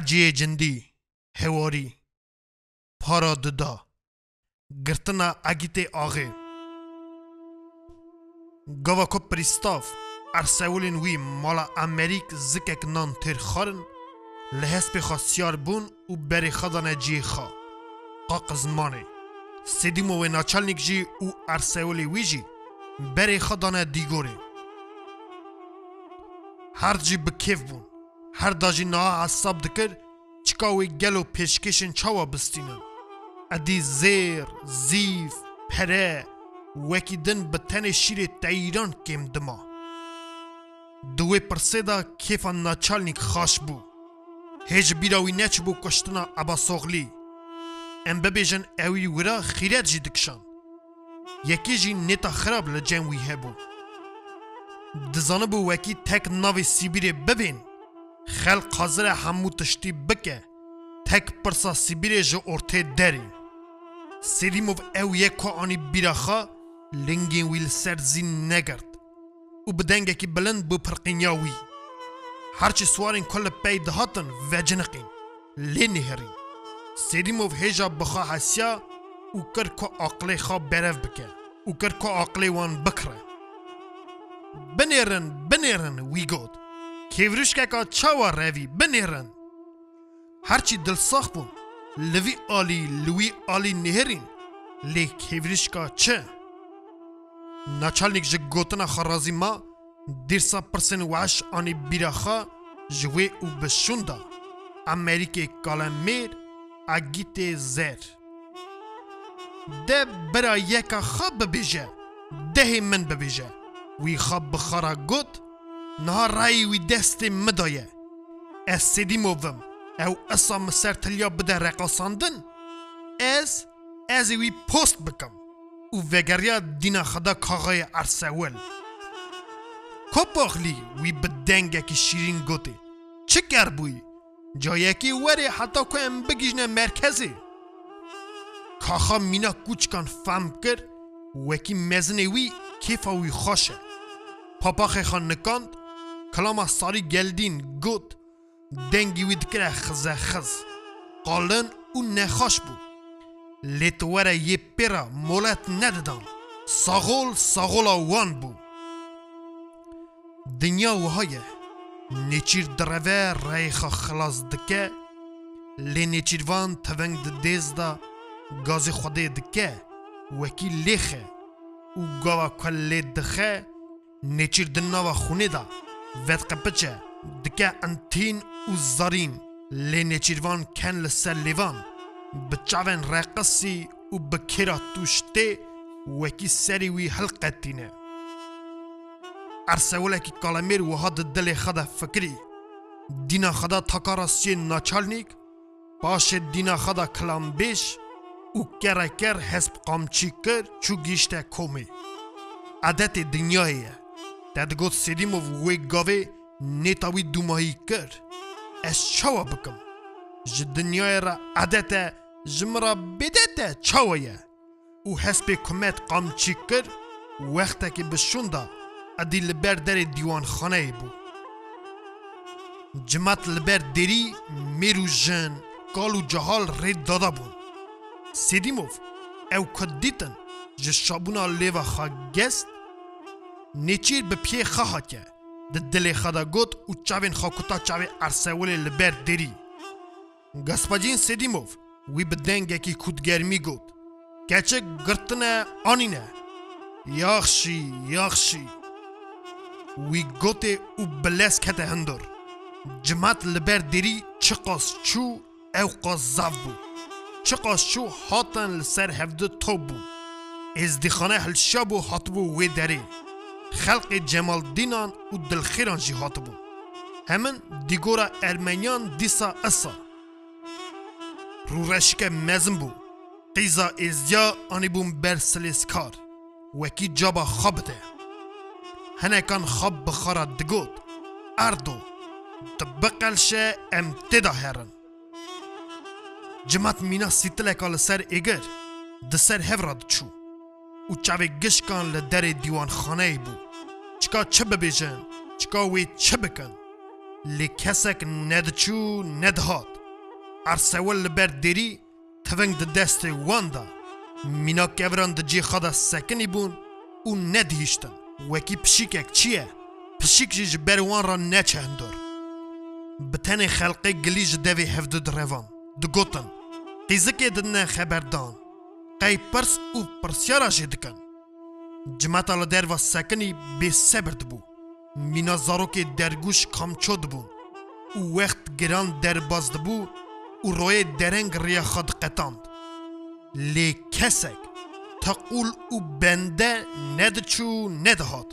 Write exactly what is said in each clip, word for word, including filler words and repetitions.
اجی جندی هواری پارا ددا گرتنا اگیت آغه گوا کو پریستاف ارسولین وی مالا امریک زکک نان تر خارن لحس به خاصیار بون و بری خدانه جی خوا قاقز مانه سیدیمو و ناچالنیک جی و ارسولی وی جی بری خدانه دیگوره هر جی بکیف بون هر داجی نها حساب دکر چکاوی گلو پیشکشن چاوا بستینن ادی زیر زیف پره وکی دن بتن شیر تایران کم دما دوی پرسیدا کیفا ناچالنیک خاش بو هیچ بیراوی نچ بو کشتنا ابا سوغلی ام ببیجن اوی ورا خیرت جی دکشان یکی جی نتا خراب لجن وی هبو دزانه بو وکی تک ناوی سیبیره ببین خلق حاضر همو تشتی بکه تک پرسا سیبیره جو ارته داری سیدیموف او یکو آنی بیراخا لنگین ویل سرزین نگرد و بدنگه که بلند بو پرقینیاوی هرچی سوارین کل پی دهاتن و جنقین لی نهرین سیدیموف هیجا بخوا حسیا و کر که عقلی خواب برف بکه و کر که عقلی وان بکره بنیرن بنیرن وی گود کیوروش که که چاوا روی بنیرن هرچی دل ساخ بون لوی آلی لوی آلی نهرین لی کیوروش که چه ناچالنیک جه گوتنا خرازی ما دیرسا پرسن وعش آنی بیراخا جوی او بشوندا امریکه کالمیر اگیت زر ده برا یکا خواب ببیجه ده من ببیجه وی خواب بخارا گوت نها رای وی دست مدایه از سیدی مووم او اصا مسر تلیا بده رقاساندن از از وی پوست بکم و وگریا دینا خدا کاغای ارسول کپاخلی وی بدنگه که شیرین گوته چه کر بوی جایه که وره حتی که ام بگیجنه مرکزه کاخا مینا کوچکان فهم کر وکی مزنه وی کیفا وی خوشه پاپاخه خان نکاند کلاما ساری گلدین گوت دنگی وی دکره خزه خز قالن او نخاش بو لیتواره یه پیرا مولت نددان ساغول ساغولا وان بو دنیا وهایه نیچیر دروه رایخا خلاص دکه لی نیچیر وان تونگ ده دیز دا گاز خوده دکه وکی لیخه و گاوا کل دخه نیچیر دناوا خونه دا ود قپچه دکه انتین و زارین لی نیچیر وان کن لسر لیوان بچاون رقصی و بکیرا توشته وکی سری وی حلقه تینه ارسوله کی کالمیر و هاد دل خدا فکری دینا خدا تاکاراسی ناچالنیک باش دینا خدا کلام بیش و کرکر حسب قامچی کر چو گیشته کومی عادت دنیایه دادگوت سیدیم و وی گاوه نیتاوی دومایی کر از چاوا بکم ج دنیای را عادت جمرا بدته چاویه و حسب کمت قامچی کر وقتا که بشونده ادی لبر در دیوان خانه بو جماعت لبر دری میرو جن کالو جهال رید دادا بون سیدیموف او کد دیتن جه شابونا لیوا خواه گست نیچیر به پیه خواه که ده دل خدا گوت و چاوین خواه کتا چاوی ارسولی لبر دری گسپاجین سیدیموف وی بدنگه که کودگرمی گوت کچه گرتنه آنینه یاخشی یاخشی وی گوته او بلس کته هندر جماعت لبر دری چقاس چو او قاس زاف بو چقاس چو هاتن لسر هفده تو بو از دیخانه هلشابو هات بو وی دری خلق جمال دینان و دلخیران جی هات بو همین دیگورا ارمنیان دیسا اصا رو رشک مزم بو قیزا ازیا آنی بوم برسلیسکار وکی جابا خوابده هنه کان خواب بخارا دگود اردو دبقلشه امتدا هرن جماعت مینا سیتلک آل سر ایگر ده سر هفراد چو و چاوی گشکان لدر دیوان خانه بو چکا چه ببیجن چکا وی چه بکن لی کسک ندچو ندهات ارسول لبر دیری تونگ ده دست واندا مینا کوران ده جی خدا سکنی بون او ندهیشتن وکی پشیکک چیه؟ پشیک جی جبر وان را نچه هندور بتنی خلقی گلیج دوی هفده دروان دو گوتن قیزکی دنه خبردان قی پرس او پرسیارا جدکن جماعت آلا در و سکنی بی سبر دبو مینا زاروک درگوش کامچود بون او وقت گران در باز دبو او روی درنگ ریا خود قطاند لی کسک تقول او بنده ندچو ندهاد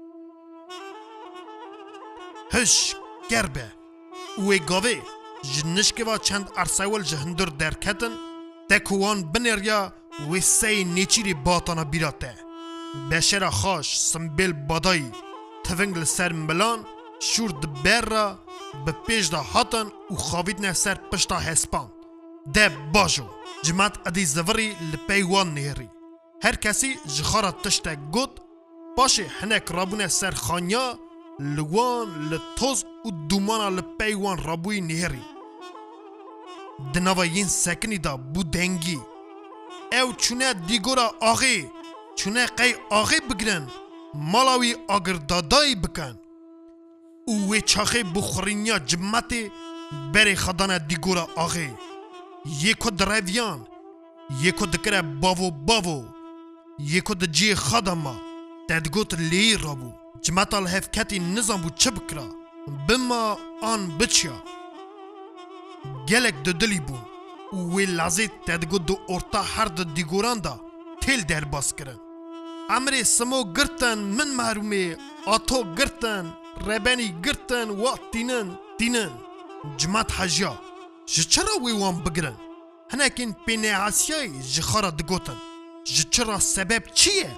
هش گربه اوی گاوه جنشکه و چند ارسول جهندر درکتن تکوان بنریا و سی نیچیری باتانا بیراته بشر خاش سنبیل بادایی تونگل سر ملان شورد بر را به پیش دا هاتن و خوابید نه سر پشتا هسپان ده باجو جماعت ادی زوری لپیوان نهری هر کسی جخارا تشتا گود باشه هنک رابونه سر خانیا لوان لطوز و دومانا لپیوان رابوی نهری دناوا ین سکنی دا بودنگی او چونه دیگورا آغی چونه قی آغی بگرن مالاوی آگر دادایی بکن اوی چاخی بخورینیا جمعتی بری خدانه دیگورا آغی یکو درویان یکو دکره باو باو یکو دجی خداما تدگوت لی رابو جمعت الهفکتی نظام بو چه بکرا بما آن بچیا گلک دو دلی بون اوی لازی تدگوت دو ارتا هر دو دیگوران دا تیل در باز کرن امری سمو گرتن من محرومه آتو گرتن ربانی گرتن و تینن تینن جماعت حجیا جچرا وی وان بگرن هنکین پینه عاسیای جخارا دگوتن جچرا سبب چیه؟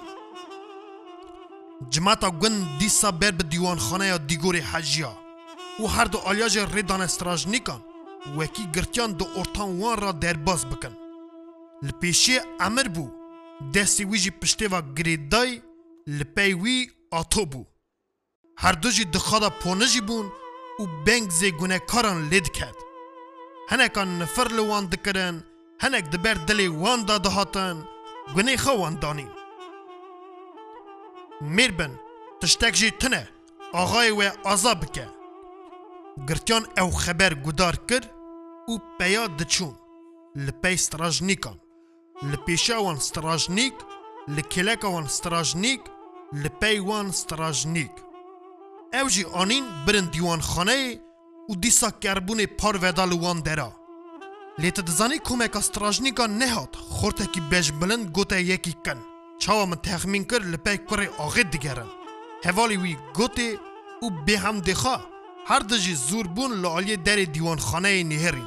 جماعتا گن دیسا بر به دیوان خانه یا دیگور حجیا و هر دو آلیاج ریدان استراجنیکان وکی گرتیان دو ارتان وان را در باز بکن لپیشی امر بو دستی ویجی پشته و گریدای لپی وی آتو بو هر دو جی دخوادا پونجی بون و بنگ زی گونه کاران لید کرد هنکان نفر لوان دکرن هنک دبر دلی وان دا دهاتن گونه خوان دانی میربن تشتک جی تنه آغای و آزا بکه گرتیان او خبر گدار کرد و پیاد دچون لپی ستراجنیکان لپیشه وان ستراجنیک لکلک وان ستراجنیک لپی وان ستراجنیک او جی آنین برن دیوان خانه و دیسا کربون پار ودال وان درا لیت دزانی کمک استراجنیکا نهاد خورته کی بج بلند گوته یکی کن چاوا من تخمین کر لپی کره آغید دیگرن حوالی وی گوته و به هم دخوا هر دجی زور بون لعالی در دیوان خانه نهرین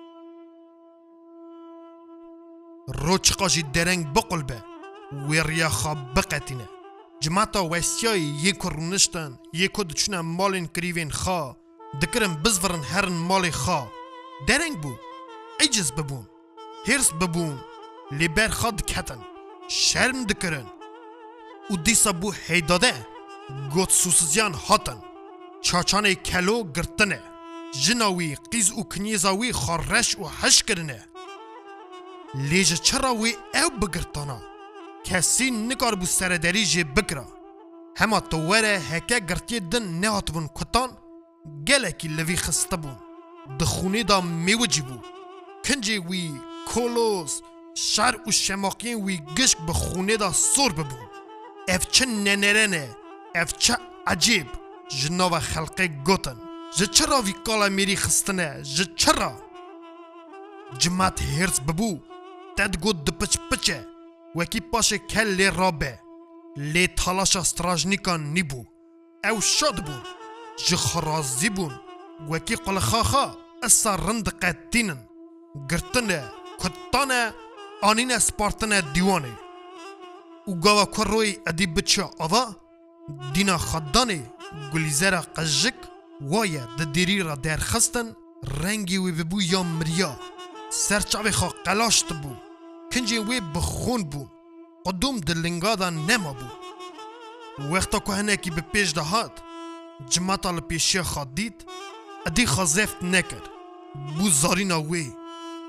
روچقاجی درنگ بقلبه ویریا خواب بقتینه جماعتا ویسیای یکو رونشتن یکو دچونه مالین کریوین خوا دکرن بزورن هرن مال خوا درنگ بو ایجز ببون هرس ببون لیبر خاد کتن شرم دکرن و دیسا بو هیداده گوت سوسزیان هاتن چاچانه کلو گرتنه جناوی قیز و کنیزاوی خارش و حش کرنه لیجه چرا وی او بگرتانا کسی نکار بو سرداری جه بکرا هما تواره هکه گرتی دن نهات بون کتان گلکی لوی خسته بون دخونه دا میوجی بو کنجه وی کولوس شر و شماقین وی گشک بخونه دا سور ببون اف چه ننرنه اف چه عجیب جناو خلقه گوتن جه چرا وی کالا میری خستنه جه چرا جماعت هرس ببو تد گود دپچ پچه وکی پاشه کل لی رابه لی تالاشا ستراجنیکان نیبو او شاد بون جه خرازی بون وکی قل خاخا اسا رند قدینن گرتنه کتانه آنین سپارتنه دیوانه او گاوا کروی ادی بچه آوا دینا خدانه گلیزر قجک وایه ده دیری را در خستن رنگی وی ببو یا مریا سرچاوی خواه قلاشت بو کنجی وی بخون بو قدوم دلنگا دا نما بو وقتا که هنکی به پیش دهات جماعتا لپیشی خواه دید ادی خواه زفت نکر بو زارینا وی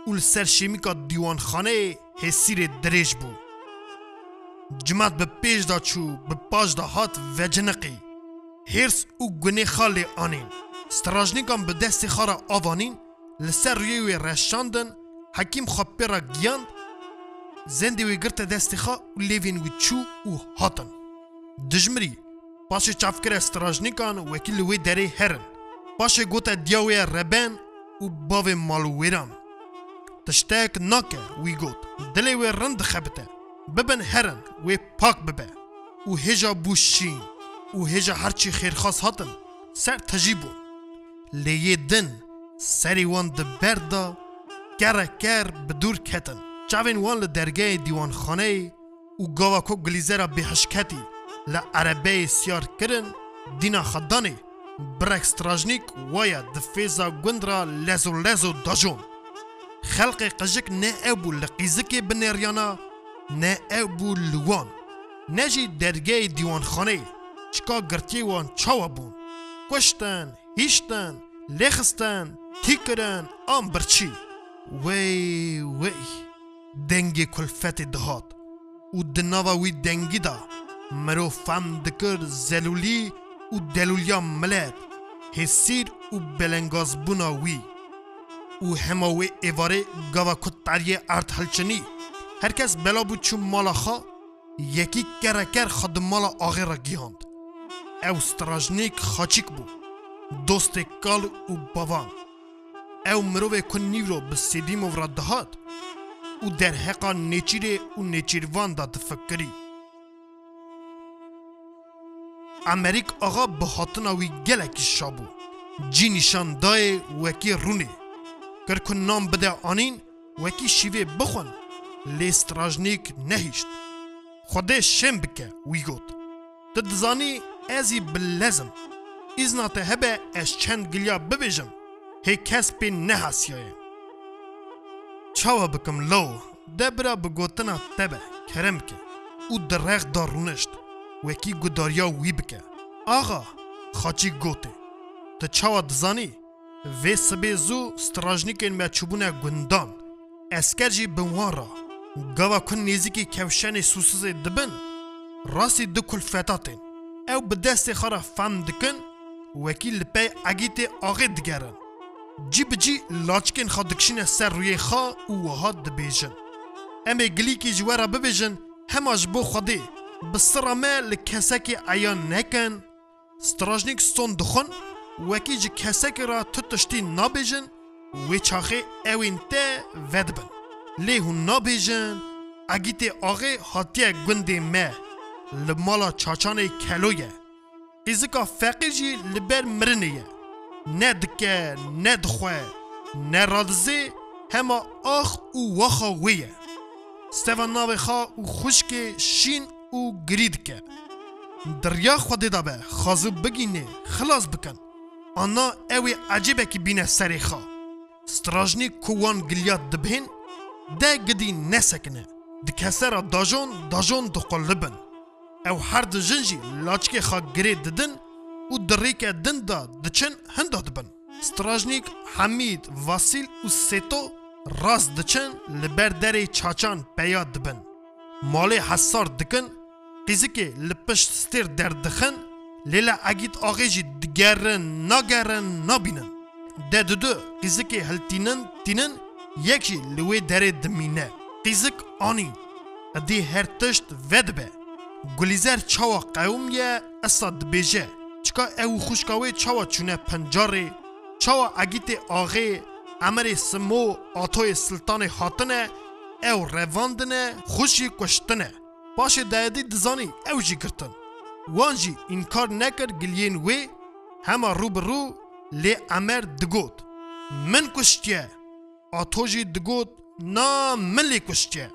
و لسر شیمیکا دیوان خانه حسیر دریج بو. جماعت به پیش دا چو به پاش دا هات و جنقی. هرس و گنه خاله آنین. ستراجنیکان به دست خارا آوانین لسر رویوی رشاندن حکیم خواب پیرا گیاند زنده وی گرت دست خوا و لیوین وی چو و هاتن. دجمری پاش چافکر استراجنیکان وکیل وی دره هرن. پاش گوتا دیاوی ربن و باوی مالویران. تشتاک ناکه وی گوت دلی وی رند خبته ببن هرن وی پاک ببه و هجا بوشین و هجا هرچی خیرخواست هاتن سر تجیبون. لیه دن سری وان دبردا کره کر بدور کتن. چاوین وان لدرگه دیوان خانه و گاواکو گلیزه به حشکتی لعربه سیار کرن دینا خدانه برک ستراجنیک وایا دفیزا گندرا لزو لزو داجون. خلق قجک نه ابو لقیزک بنریانا نه ابو لوان نجی درگه دیوان خانه چکا گرتی وان چاوا بون کشتن هیشتن لخستن تیکرن آم برچی وی وی دنگی کلفت دهات و دناوا وی دنگی دا مرو فهم دکر زلولی و دلولیا ملت حسیر و بلنگاز بونا وی و هماوی ایواره گاوا کتاریه ارد حلچنی هرکس بلا بود چون مالا خوا یکی کرکر خد مالا آغی را گیاند. او ستراجنیک خاچیک بود دوست کال و باوان. او مروه کنی رو به سیدیم و را دهات و در حقا نیچیره و نیچیروان دا دفکری. امریک آقا به حاطناوی گلکی شابو جی نشان دای وکی رونه کرکن نام بده آنین وکی شیوه بخون لی ستراجنیک نهیشت. خوده شم بکه وی گوت تدزانی ازی بلزم ازنا هبه اش چند گلیا ببیجم هی کس پی نحاسیه چاوا بکم لو دبرا بگوتنا تبه کرم که او درخ دارونشت وکی گداریا وی بکه آغا خاچی گوته تا چاوا دزانی وی سبه زو ستراجنیکین ما چوبونه گندان اسکر جی بنوان را گاوا کن نیزی که کوشن سوسوز دبن راسی دو کلفتاتین او به دست خارا فهم دکن وکیل پی اگیت آغی دگرن جی بجی لاچکن خوا دکشین سر روی خوا و وها دبیجن امی گلی که جوارا ببیجن هماش بو خوده بسرامه لکسکی عیان نکن ستراجنیک سون دخون وکی جی کسکی را تتشتی نابیجن وی چاخه اوین ته ودبن لی هون نابیجن اگیت آغی حاتیه گنده مه لمالا چاچانه کلویه ایزکا فقیر جی لبر مرنیه نه دکه نه دخواه نه رادزه همه آخ و واخا ویه ستوان ناوی خواه و خوشک شین و گرید که دریا خواده دابه خازو بگینه خلاص بکن آنا اوی عجیبه که بینه سری خواه ستراجنی کوان گلیات دبهن ده گدی نسکنه دکسه را داجون داجون دقلبن او هر دو جنجی لاچکی خواه گرید ددن و دریکه دن دا دچن هنده دبن ستراجنیک حمید واسیل و سیتو راست دچن لبر دره چاچان پیاد دبن مالی حسار دکن قیزی که لپشت ستیر در دخن لیلا اگید آغی جی دگرن ناگرن نابینن ده دو دو قیزی که هل تینن تینن یکی لوی دره دمینه قیزک آنی ادی هر تشت ودبه گلیزر چاوا قوم یه اصاد بیجه چکا او خوشکاوی چاوا چونه پنجاره چاوا اگیت آغی امر سمو آتوی سلطان حاطنه او رواندنه خوشی کشتنه باشه دایدی دزانی او جی گرتن وانجی انکار نکر گلین وی همه رو برو لی امر دگوت من کشتیه آتوجی دگوت نا من لی کشتیه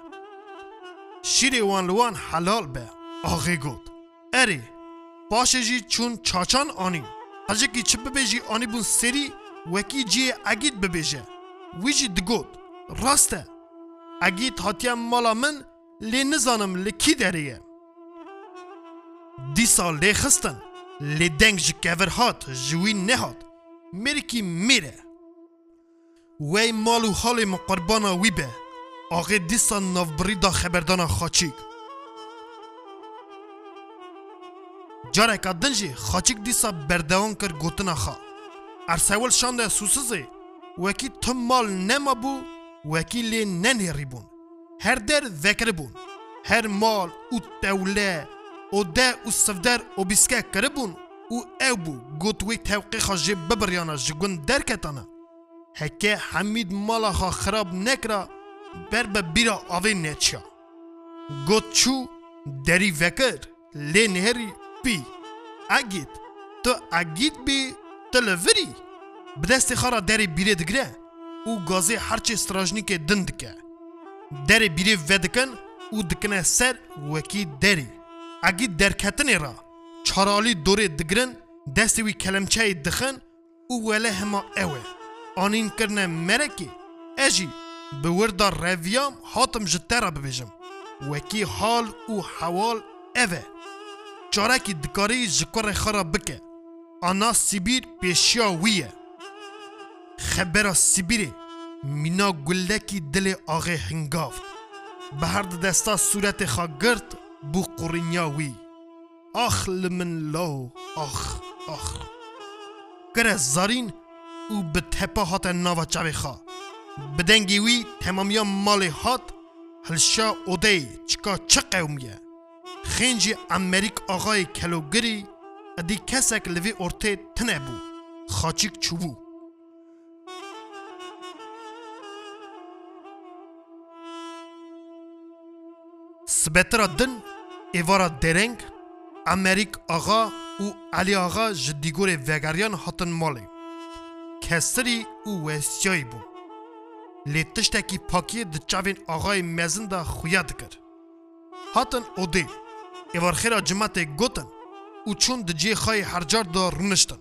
شیر وان لوان حلال به آغی گوت اری باشه جی چون چاچان آنی اجه کی چه ببیجی آنی بون سری وکی جی اگید ببیجه وی جی دگوت راسته اگید هاتیم مالا من لی نزانم لی کی دریه دی سال لی خستن لی دنگ جی کور هات جوی نهات میری کی میره وی مالو حال مقربانا وی به آغی دیسا نافبری دا خبردانا خاچیک جارک دنجی خاچیک دیسا بردوان کر گوتنا خوا ارسول شانده سوسزه وکی تم مال نما بو وکی لی ننهری بون هر در ذکر بون هر مال او توله او ده او صفدر او بیسکه کربون او او بو گوتوی توقیخا جه ببریانا جگون درکتانا هکه حمید مالا خا خراب نکرا بر به بیرا آوه نیچیا گوت چو دری وکر لی نهری بی اگید تو اگید بی تلوری بدست خارا دری بیره دگره او گازه هرچه استراجنیک دند که دری بیره ودکن او دکنه سر وکی دری اگی درکتنی را چارالی دوره دگرن دستوی کلمچه دخن او وله هما اوه آنین کرنه مرکی اجی به وردا رویام حاتم جته را ببیجم وکی حال او حوال اوه چارکی دکاری جکر خرا بکه آنا سیبیر پیشیا ویه خبر سیبیره مینا گلکی دل آغه هنگافت به هر دستا صورت خاگرد بو قرنیاوی آخ لمن لو آخ آخ کره زارین او به تپا هات ناوا چاوی خوا بدنگی وی تمامیا مال هات هلشا اوده چکا چه قومیه خینجی امریک آقای کلوگری ادی کسک لوی ارته تنه بو خاچیک چوبو سبترا دن ایوارا درنگ امریک آقا او علی آقا جدیگور وگریان هاتن مالی کسری او ویسیایی بون لی تشتکی پاکی ده چاوین آقای مزن دا خویا دکر هاتن اوده ایوار خیرا جماعت گوتن او چون ده جی خواهی هرجار دا رونشتن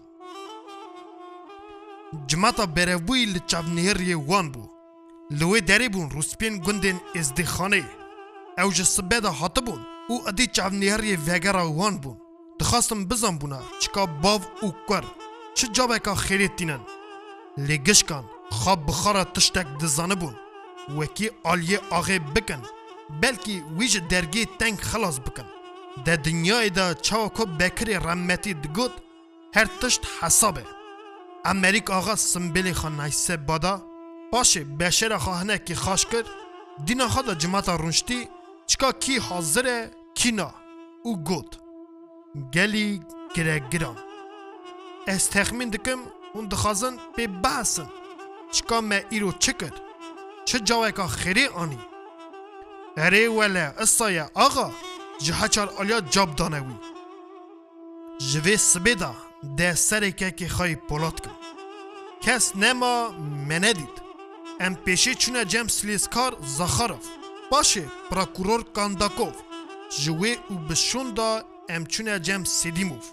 جماعتا برهبوی لی چاو نهری وان بو لوی داری بون روسپین گندین ازدی خانه او جسبه دا هاته بون او ادی چاو نهری وگرا وان بون دخواستم بزن بونا چکا باو او کور چه جابه که خیلیت دینن لگش کن خواب بخارا تشتک دزانه بون وکی آلیه آغه بکن بلکی ویج درگی تنگ خلاص بکن ده دنیای دا چاوکو بکری رحمتی دگود هر تشت حسابه امریک آغا سنبیلی خان نیسه بادا باشه بشر خواهنه کی خاش کر دینا خدا جماعتا رونشتی چکا کی حاضره کی نا او گود گلی گره گران از تخمین دکم اون دخوازن به بحثن چکا ما ایرو چکر چه جاوه که خیری آنی اره وله اصایه آقا جه چار آلیا جاب دانوی جوه سبیدا ده سره که که خواهی پولاد کن کس نما مندید ام پیشه چونه جم سلیسکار زخارف باشه پراکورور کانداکوف جوه او بشون دا ام چونه جم سیدیموف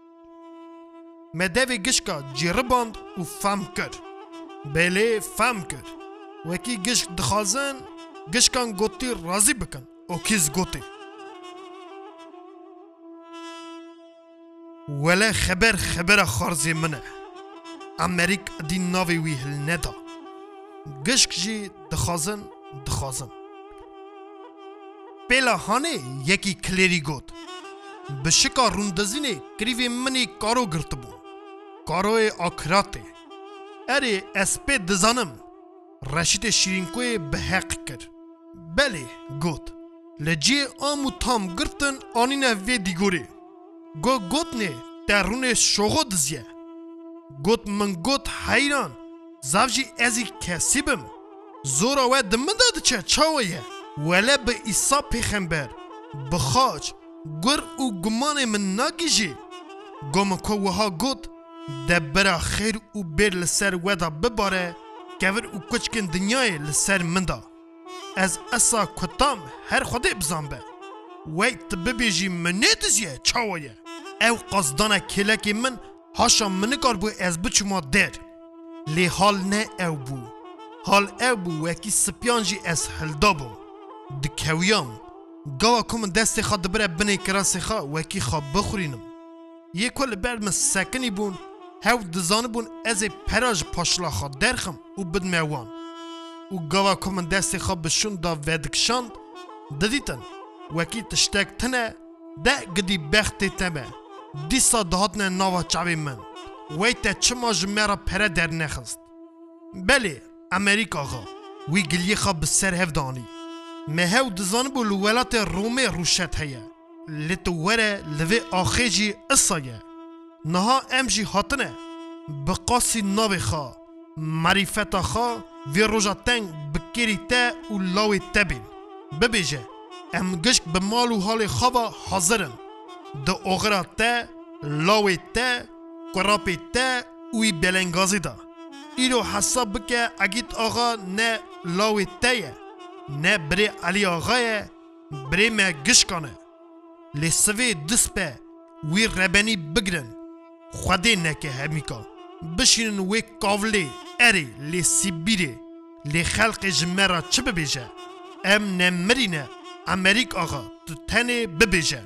مدوی گشکا جیرباند و فهم کرد بله فهم کرد وکی گشک دخوازن گشکان گوتی رازی بکن او کیز گوتی ولی خبر خبر خارزی منه امریک دی ناوی وی هل ندا گشک جی دخوازن دخوازن پیلا هانه یکی کلیری گوت بشکا روندزینه کریوی منی کارو گرت بو کاروی آکراته اره اسپی دزانم رشید شیرینکوی به حق کر بله گوت لجی آمو تام گرتن آنینه وی دیگوری گو گوت نه در رونه شوغو دزیه گوت من گوت حیران زوجی ازی کسی بم زورا و دمده چه چاویه ولی به ایسا پیخنبر بخاج گر او گمان من ناگیجی گم که وها گوت دبرا خیر او بیر لسر ودا بباره کور او کچکن دنیای لسر مندا از اسا کتام هر خوده بزن به وی تببیجی منه دزیه چاویه او قصدانه کلکی من هاشا منکار بو از بچما در لی حال نه او بو حال او بو وکی سپیانجی از هلدا بو دکویام گاوا کم دست خواد بره بنی کراسی خواه وکی خواه بخورینم یه کل برد من سکنی بون هاو دزان بون از پراج پاشلا خواه درخم و بدموان و گاوا که من دست خواه بشون دا ودکشاند ددیتن وکی تشتک تنه ده گدی بختی تمه دیسا دهاتنه ناوا چاوی من ویتا چما جمعرا پره در نخست بله امریکا آقا وی گلی خواه بسر هفدانی مهو دزان بو لولات رومه روشت هیا لتو وره لوی آخیجی اصایه نها امجی هاتنه بقاسی ناوی خواه معرفت خواه وی روژا تنگ بکری تا و لاوی تبین ببیجه ام گشک بمال و حال خواه حاضرن ده اغرا تا لاوی تا قراپی تا وی بلنگازی دا ایرو حساب بکه اگیت آقا نه لاوی تایه نه بری علی آقایه بری ما گشکانه لی سوی دسپه وی ربنی بگرن خوده نکه همیکا بشینن وی کاولی اری لی سیبیری لی خلق جمعرا چه ببیجه ام نمرینه امریک آقا تو تنه ببیجه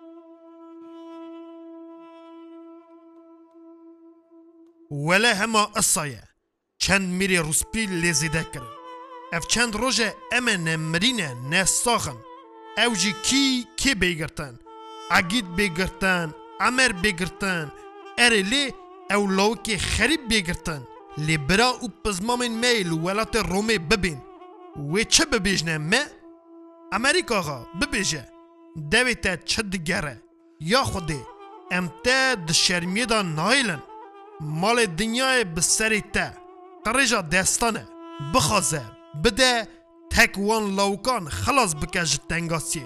ولی هما اصایه چند میری روسپی لیزیده کرن اف چند روژه ام نمرینه نساخن او جی کی کی بیگرتن عگید بیگرتن عمر بیگرتن اره لی او لوکی خریب بیگرتن لی برا او پزمامین میل ولات رومه ببین وی چه ببیجنه مه؟ امریکا آقا ببیجه دوی تا چه دگره یا خوده ام تا دشرمیه دا نایلن مال دنیای بسری تا قرجا دستانه بخوازه بده تک وان لاوکان خلاص بکش تنگاسیه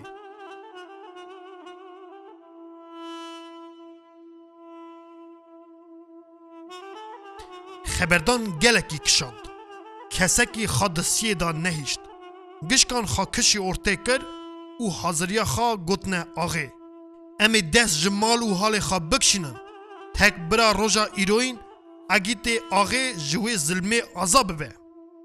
خبردان گلکی کشاند کسکی خادسیه دا نهیشت گشکان خوا کشی ارته کر و حاضریا خوا گوتنه آغه امی دست جمال و حال خوا بکشینن تک برا روژا ایروین اگیت آغه جوی ظلمه عذاب به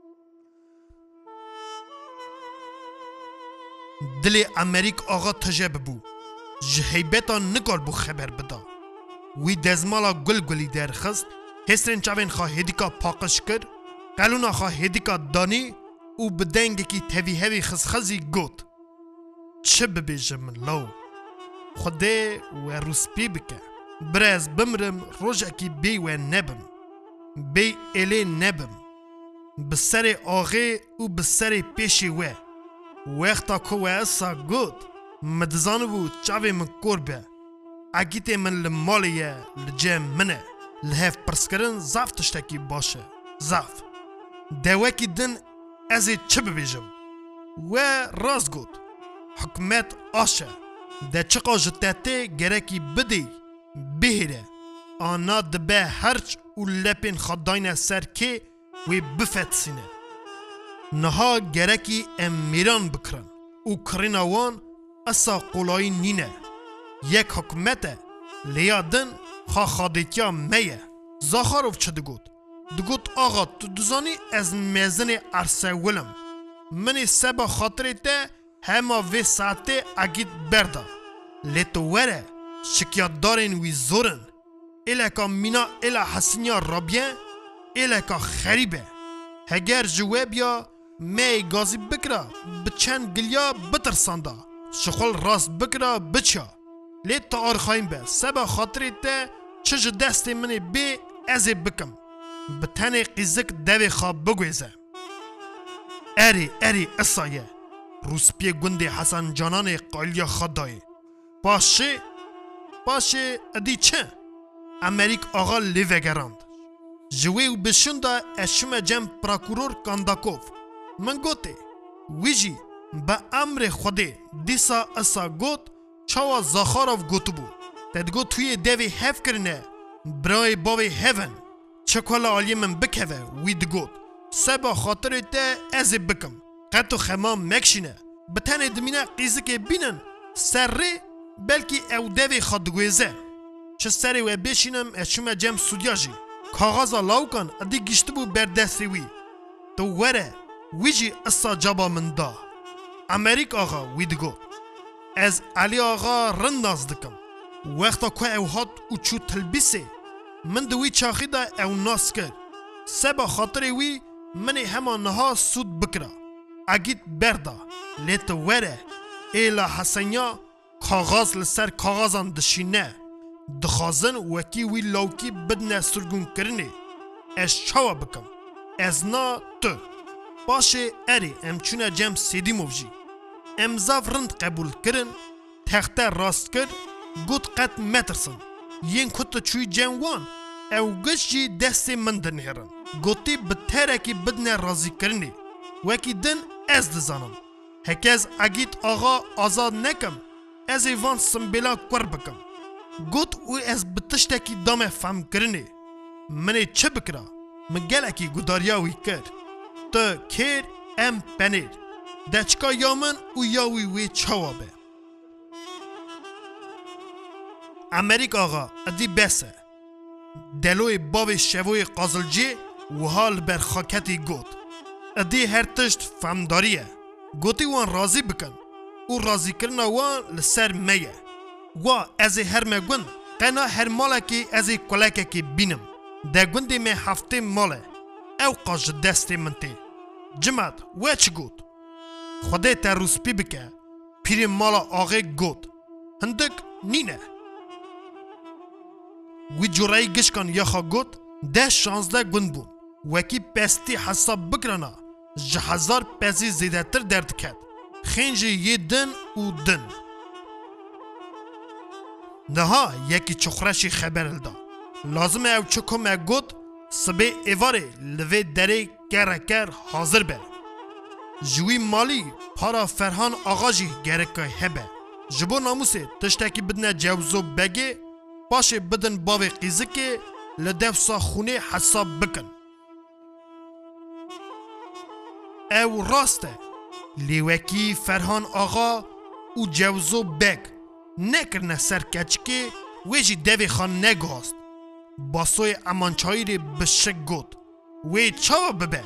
دل امریک آغا تجاب بو جهیبتا نکال بو خبر بدا وی دزمالا گل گلی درخست هسترین چاوین خواه هدیکا پاقش کرد قلونا خواه هدیکا دانی و بدنگی که توی هوی خزخزی گوت چه ببیجم لو خوده و روسپی بکه برز بمرم روژا کی بی و نبم بی الی نبم بسر آغه و بسر پیشی و وقتا که و اصا گوت مدزانو چاوی من کربه اگیت من لمالیه لجم منه لحف پرسکرن زاف تشتکی باشه زاف دوکی دن ازی چه ببیجم و راست گوت حکمت آشه ده چقا جتاته گرکی بدی بهره آنا دبه هرچ و لپین خداین سر که وی بفت سینه نها گرکی امیران بکرن و کرین وان اصا قولای نینه یک حکمته لیادن خوا خادیتیا میه زاخاروف چه دگوت دگوت آقا تو دزانی از میزن عرصه ولم منی سبا خاطره ته هما وی ساعته اگید بردا لیتو وره شکیات دارین وی زورن ایلکا مینا ایلا حسنیا رابیه ایلکا خریبه هگر جوابیا می گازی بکرا بچند گلیا بترساندا شخول راست بکرا بچا لیت تا آرخایم به سبا خاطری ته چج دست منی بی ازی بکم بتنی قیزک دوی خواب بگویزه اری اری اصایه روسپی گندی حسن جانان قالیا خدای باشه باشه ادی چه امریک آقا لیوگراند جوی و بشنده اشم جم پراکورور کانداکوف من گوته ویجی با امر خوده دیسا اصا گوت چاوا زاخاروف گوتو بو تدگو توی دوی هف کرنه برای باوی هفن چکولا آلی من بکوه وید گوت سبا خاطر ده ازی بکم قطو خمام مکشینه بتنه دمینه قیزه که بینن سر ری بلکی او دوی خادگویزه چه سری و بشینم اشوم جم سودیاجی کاغازا لاوکان ادی گشت بو بردستی وی تو وره ویجی اصا جابا من دا امریک آقا وید گوت از علی آقا رنداز دکم وقتا که او هات او چو تلبیسه من دوی چاخی دا او ناس کر سبا خاطر وی من هما نها سود بکرا اگیت بردا لیت وره ایلا حسنیا کاغاز لسر کاغازان دشینه دخازن وکی وی لاوکی بدنه سرگون کرنه اش چاوا بکم از نا تو باشه اری ام چونه جم سیدی موجی امزاف رند قبول کرن تخته راست کر گوت قد مترسن ین کت چوی جنوان او گشی دست من دنهرن گوتی بترکی بدنه رازی کرنه وکی دن از دزانم هکز اگیت آغا آزاد نکم از ایوان سنبیلا کور بکم گوت او از بتشتکی دام فهم کرنه منی چه بکرا مگل اکی گداریاوی کرد تا کیر ام پنیر دچکا یامن او یاوی وی چوابه امریک آغا ادی بسه دلوی باوی شوی قازلجی و حال بر خاکتی گوت ادی هر تشت فهمداریه گوتی وان راضی بکن او راضی کرنا وان لسر میه و از هر مگون قنا هر مالکی از کلککی بینم ده گوندی می هفته ماله او قاج دستی منتی جمعت و چی گوت خوده تا روسپی بکه پیری مالا آغه گوت هندک نینه وی جورایی گشکان یخا گوت ده شانزده گوند بون وکی پستی حساب بکرنا جهزار پسی زیده تر درد کد خینجی یه دن و دن نها یکی چخرشی خبر الدا لازم او چکو مگوت سبه ایواره لوه دره گرکر حاضر به جوی مالی پارا فرهان آغاجی گرکای هبه جبو ناموسه تشتکی بدنه جوزو بگه باشه بدن باوی قیزه لدفسا خونه حساب بکن او راسته لیوکی فرهان آغا او جوزو بگ نکرنه سر کچکه ویجی دوی خان نگاست باسوی امانچایی ری بشک گود وی چاوا ببه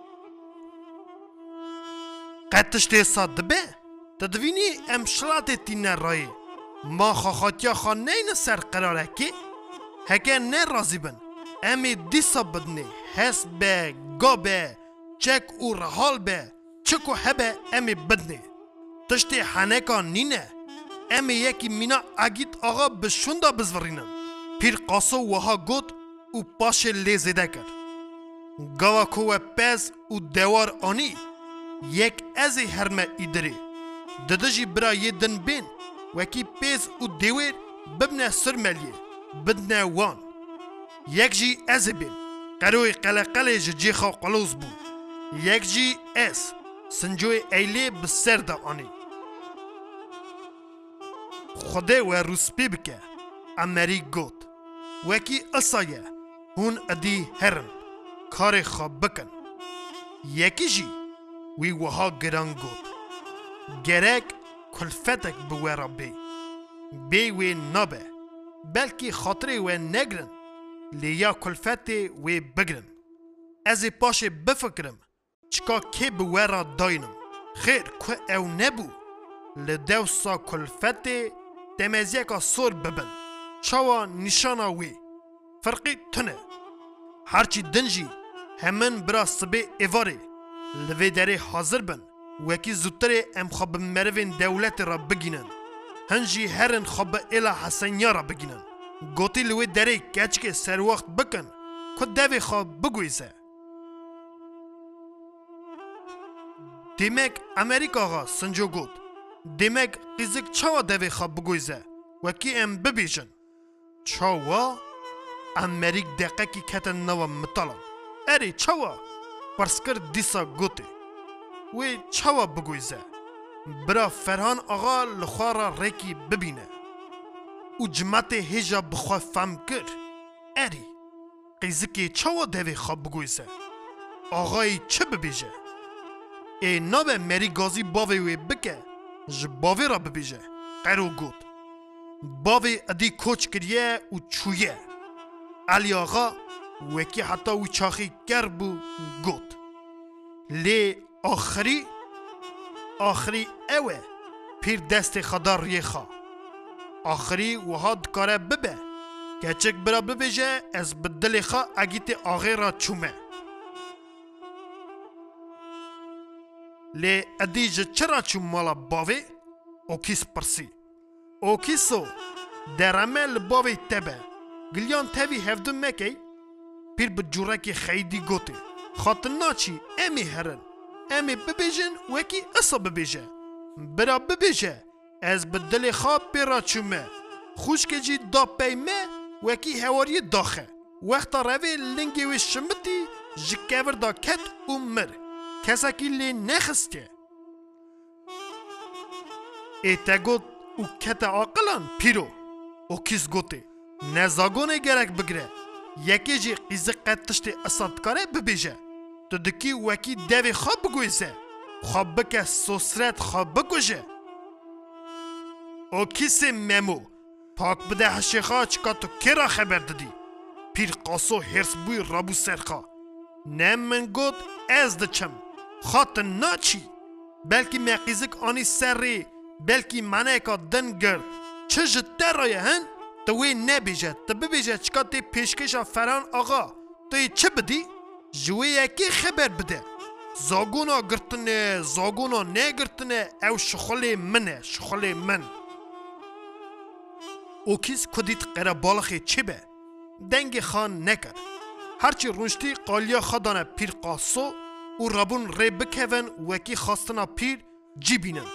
قطش دیسا دبه تدوینی امشلات تینه رایی ما خاخاتیا خان نین سر قراره که هکه نه رازی بن امی دیسا بدنه حس به گا به چک او رحال به چکو هبه امی بدنه تشتی حنکا نینه امی یکی مینا اگید آقا بشوندا بزورینم پیر قاسو وها گود او پاش لیزیده کرد گاوا کوه پز او دوار آنی یک ازی هرمه ایدری ددجی برا یه دن بین وکی پز او دوار ببنه سر ملیه بدنه وان یک جی ازی بین قروی قلقل جیخا قلوز بود یک جی اس سنجوی ایلی بسر دا آنی خوده و روسپی بکه امریک گوت وکی اصایه هون ادی هرن کار خواب بکن یکی جی وی وها گران گوت گرک کلفتک بویرا بی بی وی نابه بلکی خاطره و نگرن لیا کلفت وی بگرن از پاش بفکرم چکا که بویرا داینم خیر که او نبو لدوسا کلفت تمزیکا سور ببن چاوا نشانا وی فرقی تنه هرچی دنجی همن برا سبه ایواره لوی داره حاضر بن وکی زودتر ام خواب مروین دولت را بگینن هنجی هرن خواب ایلا حسنیا را بگینن گوتی لوی داره کچک سر وقت بکن که دوی خواب بگویزه دیمک امریکا آغا سنجو گود دیمک قیزک چاوا دوی خواب بگویزه وکی ام ببیجن چاوا امریک دقیقه کی کتن نوا مطالم اری چاوا پرسکر دیسا گوته وی چاوا بگویزه برا فرهان آغا لخوارا ریکی ببینه او جماعت هجا بخواه فهم کر اری قیزکی چاوا دوی خواب بگویزه آغای چه ببیجه ای نابه مری گازی باوی وی بکه جباوی را ببیجه قیرو گوت باوی ادی کوچ کریه و چویه علی آقا وکی حتی و چاخی کربو گوت لی آخری آخری اوه پیر دست خدا ریخا آخری وها دکاره ببه کچک برا ببیجه از بدل خا اگیت آغی را چومه. لی ادیج چرا چوم مالا باوی؟ اوکیس پرسی. اوکیسو درمه لباوی تبه. گلیان تاوی هفدون مکی؟ پیر بجوره که خیدی گوته. خاطر ناچی امی هرن. امی ببیجن وکی اصا ببیجه. برا ببیجه از بدل خواب پیرا چومه. خوشکه جی دا پیمه وکی هواری داخه. وقتا روی لنگی و شمتی جکیور دا کت و مر. کسا کی لی نخسته. ایتا گوت او کت عاقلان پیرو. او کس گوته. نزاگونه گرک بگره. یکی جی قیزه قدتشت اصادکاره ببیجه. تو دکی وکی دوی خواب بگویزه. خواب بکه سوسرت خواب بگوشه. او کس ممو. پاک بده هشیخا چکا تو کرا خبر دادی. پیر قاسو هرس بوی رابو سرخا. نم من گود از دچم. خاطر ناچی. بلکی مقیزک آنی سری. بلکی منه که دن گرد. چه جده رایه هن؟ توی نبیجه. تو ببیجه چکا تی پیشکشا فران آقا. توی چه بدی؟ جوی یکی خبر بده. زاگونا گرتنه. زاگونا نگرتنه. او شخلی منه. شخلی من. او کس کدیت قره بالخی چی به؟ دنگ خان نکر. هرچی رونشتی قالیا خدانه پیر قاسو و رابون ری بکهون وکی خواستنا پیر جی بینن.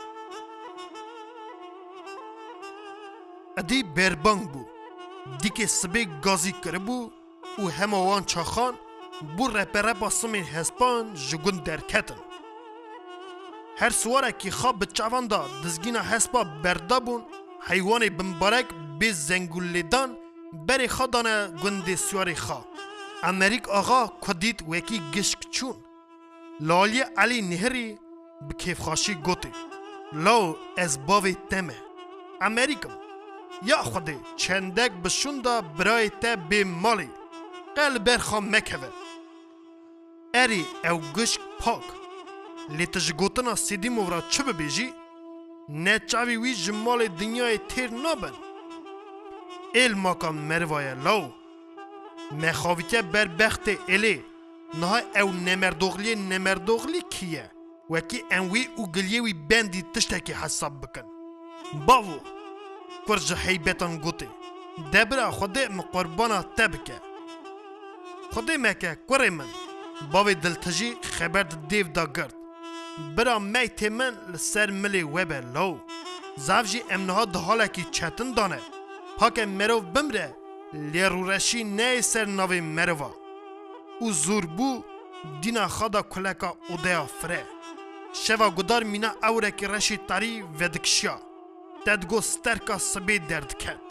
ادی بربانگ بو. دیگه سبه گازی کرده بو و همه وان چاخان بو رپره باسمین هسپان جگون درکتن. هر سواره که خواب به چوان دا دزگینا هسپا بردابون حیوان بمبارک به زنگولیدان بری خدانه گنده سواری خواه. امریک آقا کدید وکی گشک چون. لالی علی نهری بکیف خاشی گوته. لاو از باوی تمه. امریکم. یا خوده چندک بشونده برای تا به مالی. قل برخوام مکوه. اری او گشک پاک. لیتش گوتنا سیدی مورا چه ببیجی؟ نه چاوی وی جمال دنیای تیر نابن. ایل ماکا مروای لاو. مخاویته بر بخت ایلی. نه او نمردوغلی نمردوغلی کیه. وکی انوی او گلیوی بندی تشتکی حساب بکن. باو. کرج حیبتان گوته. دبرا خوده مقربانا تبکه. خوده مکه کره من. باوی دلتجی خبر دیو دا گرد. برا میت من لسر ملی وبه لو. زفجی امنها ده حالا کی چتن دانه. پاک مروف بمره. لیرورشی نه سر نوی مروا. او زور بو دینا خدا کلکا اودیا فره. شوا گدار مینا اوره کی رشی تاری ودکشیا. تدگو سترکا سبی درد کد.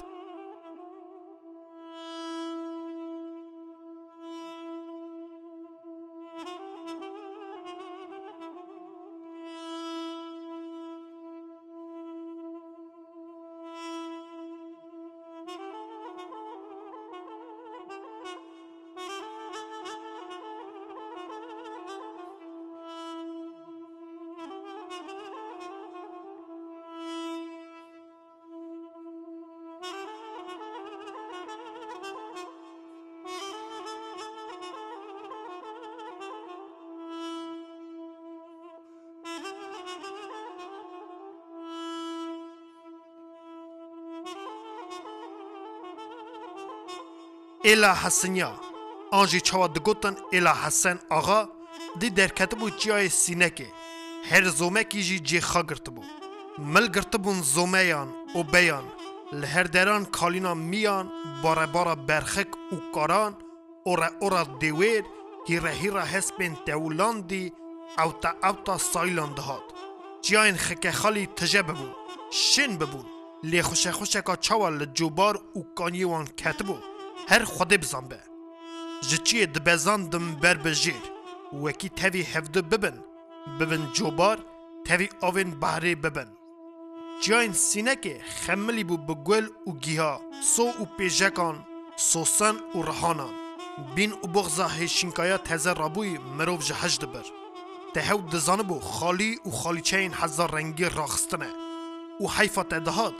ایلا حسنیا آنجی چوا دگوتن ایلا حسن آقا دی درکت بو چیای سینه که هر زومه کی جی جی خا گرت بو مل گرت بون زومیان و بیان لهر دران کالینا میان باره باره برخک و کاران اورا اورا دیویر هیره هیره هسپین تولاندی او تا او تا سایلان دهاد جیاین خکه خالی تجه ببون شن ببون لی خوشه خوشه که چوا لجوبار و کانیوان کتبو هر خوده بزن به جچی دبزاندم بر بجیر وکی تاوی هفده ببن ببن جوبار تاوی آوین بحری ببن جاین سینه که خملی بو بگل و گیها سو و پیجکان سوسن و رحانان بین و بغزا هشینکایا تزر رابوی مروف جهج دبر تهو دزانه بو خالی و خالی چین هزار رنگی راخستنه و حیفا تدهاد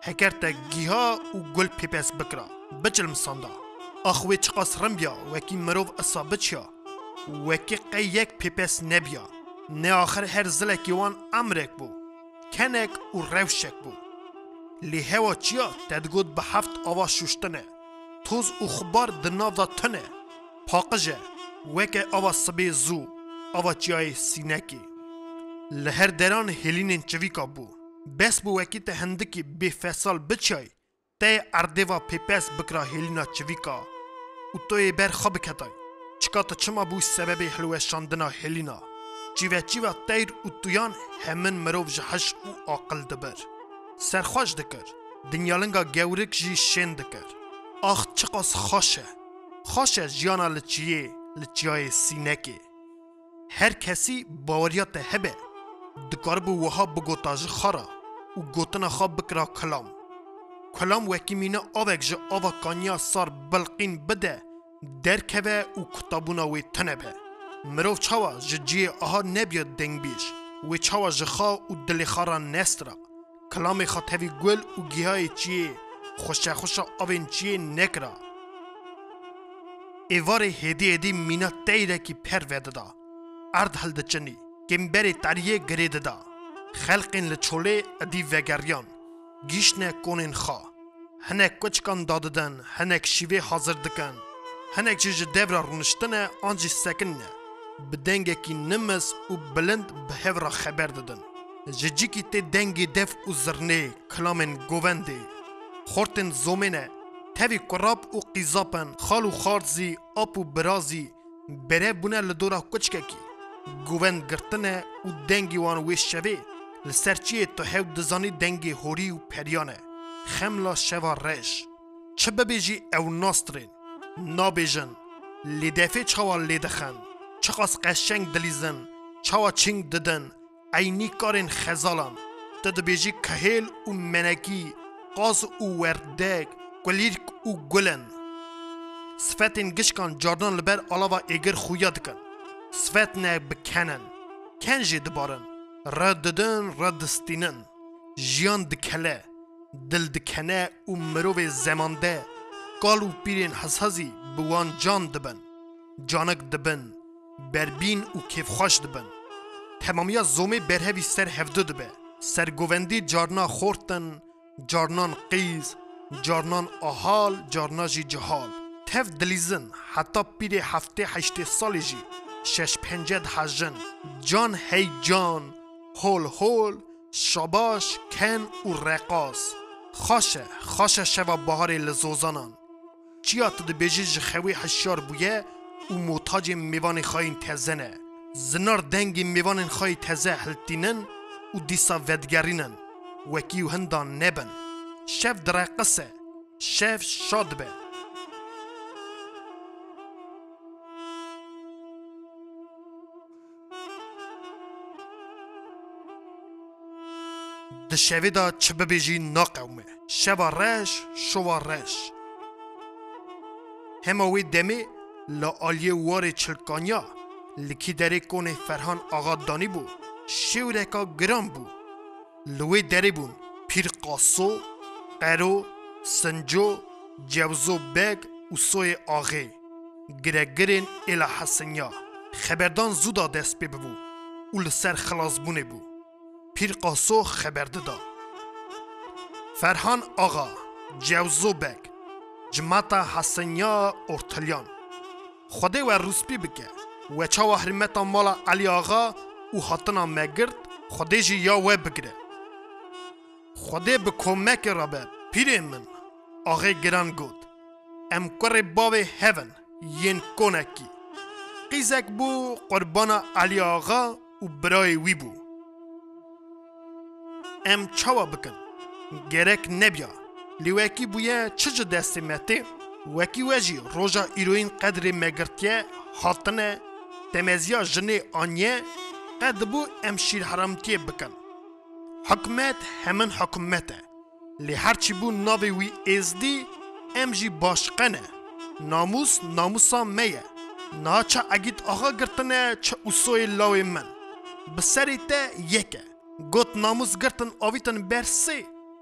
هکرت گیها و گل پیپس بکرا بچلم ساندا اخوی چقاس رمبیا وکی مروف اصابه چیا وکی قیک پیپس نبیا نه آخر هر زلکی وان امرک بو کنک و روشک بو لی هوا چیا تدگود به هفت آوا شوشتنه توز و خبار دناو دا تنه پاقجه وکی آوا سبی زو آوا چیای سینکی لهر دران هلینین چویکا بو بس بو وکی ته هندکی بی فصل بچای ته اردوا پیپس بکرا هلینا چویکا و توی بر خواب کتای چکات چما بو سبب حلوه شاندنا هلینا چیوه چیوه تیر و تویان همین مروف جهش و عاقل دبر سرخوش دکر دنیالنگا گورک جی شن دکر آخ چقاس خوشه خوشه جیانا لچیه لچیای سینکه هر کسی باوریات هبه دکار بو وها بگوتاج خارا و گوتنا خواب بکرا کلام کلام وکی مینه آوک جه آوا کانیا سار بلقین بده درکوه و کتابونا وی تنبه مروف چاوا جه جیه آها نبید دنگ بیش وی چاوا جه خوا و دل خارا نسترا کلام خاطوی گل و گیهای چیه خوشه خوشه آوین چیه نکرا ایوار هدی هدی مینا تیره کی پر ویده دا ارد هل دچنی کمبری تاریه گریده دا خلقین لچوله ادی وگریان گیشنه کونین خوا هنک کچکان داددن هنک شیوه حاضر دکن هنک جیج دورا رونشتنه آنجی سکنه بدنگه کی نمز و بلند به هورا خبر دادن جیجی کی تی دنگی دف و زرنه کلامن گوونده خورتن زومنه تاوی قراب و قیزاپن خال و خارزی آپ و برازی بره بونه لدورا کچکه کی گووند گرتنه و دنگی وان ویش شوه لسرچیه تو هاو دزانی دنگی هوری و پریانه خملا شوا رش چه ببیجی او ناسترین نابیجن لیدفه چاوا لیدخن چقاس قشنگ دلیزن چاوا چنگ ددن اینی کارین خزالان تد بیجی کهیل و منکی قاز و وردگ گلیرک و گلن صفتین گشکان جاردان لبر علاوه ایگر خویا دکن صفت نه بکنن کنجی دبارن رد ددن رد دستینن جیان دکله دل دکنه و مروف زمانده قال و پیرین حسازی بوان جان دبن جانک دبن بربین و کیف خوش دبن تمامیا زومه برهوی سر هفده دبه سرگووندی جارنا خورتن جارنان قیز جارنان آحال جارنا جی جهال تف دلیزن حتی پیر هفته هشته سالی جی شش پنجد هجن جان هی جان هول هول شاباش کن و رقاص خاشه خاشه شوا بهار لزوزانان چیا تد بیجی خوی هشیار بویه و موتاج میوان خواهین تزنه زنار دنگ میوان خواهی تزه هلتینن و دیسا ودگرینن وکیو هندان نبن شف درقصه شف شاد به ده شوی دا چه ببیجی ناقومه شوا رش شوا رش هماوی دمی لآلیه وار چلکانیا لکی داره کونه فرهان آقا دانی بو شیورکا گرام بو لوی داره بون پیر قاسو قرو سنجو جوزو بگ و سوی آغه گرگرین الى حسنیا خبردان زودا دست بی بو و لسر خلاص بونه بو پیر قاسو خبرده دا فرهان آقا جوزو بگ جماعتا حسنیا ارتلیان خوده و روسپی بکه و چاوا حرمتا مالا علی آقا و حاطنا مگرد خوده جی یا و بگره خوده بکمک رابه پیره من آقای گران گود ام کره باوی هون ین کنکی قیزک بو قربانا علی آقا و برای وی بو ام چاوا بکن گرک نبیا لیوکی بویه چج دستی مته وکی وجی روژا ایروین قدر مگرتیه حاطنه تمزیا جنه آنیه قد بو ام شیر حرامتیه بکن حکمت همن حکمته لی هرچی بو ناوی وی ازدی ام جی باشقنه ناموس ناموسا میه نا چه اگید آقا گرتنه چه اصوی لاوی من بسری تا یکه گوت ناموس گرتن آویتن برسی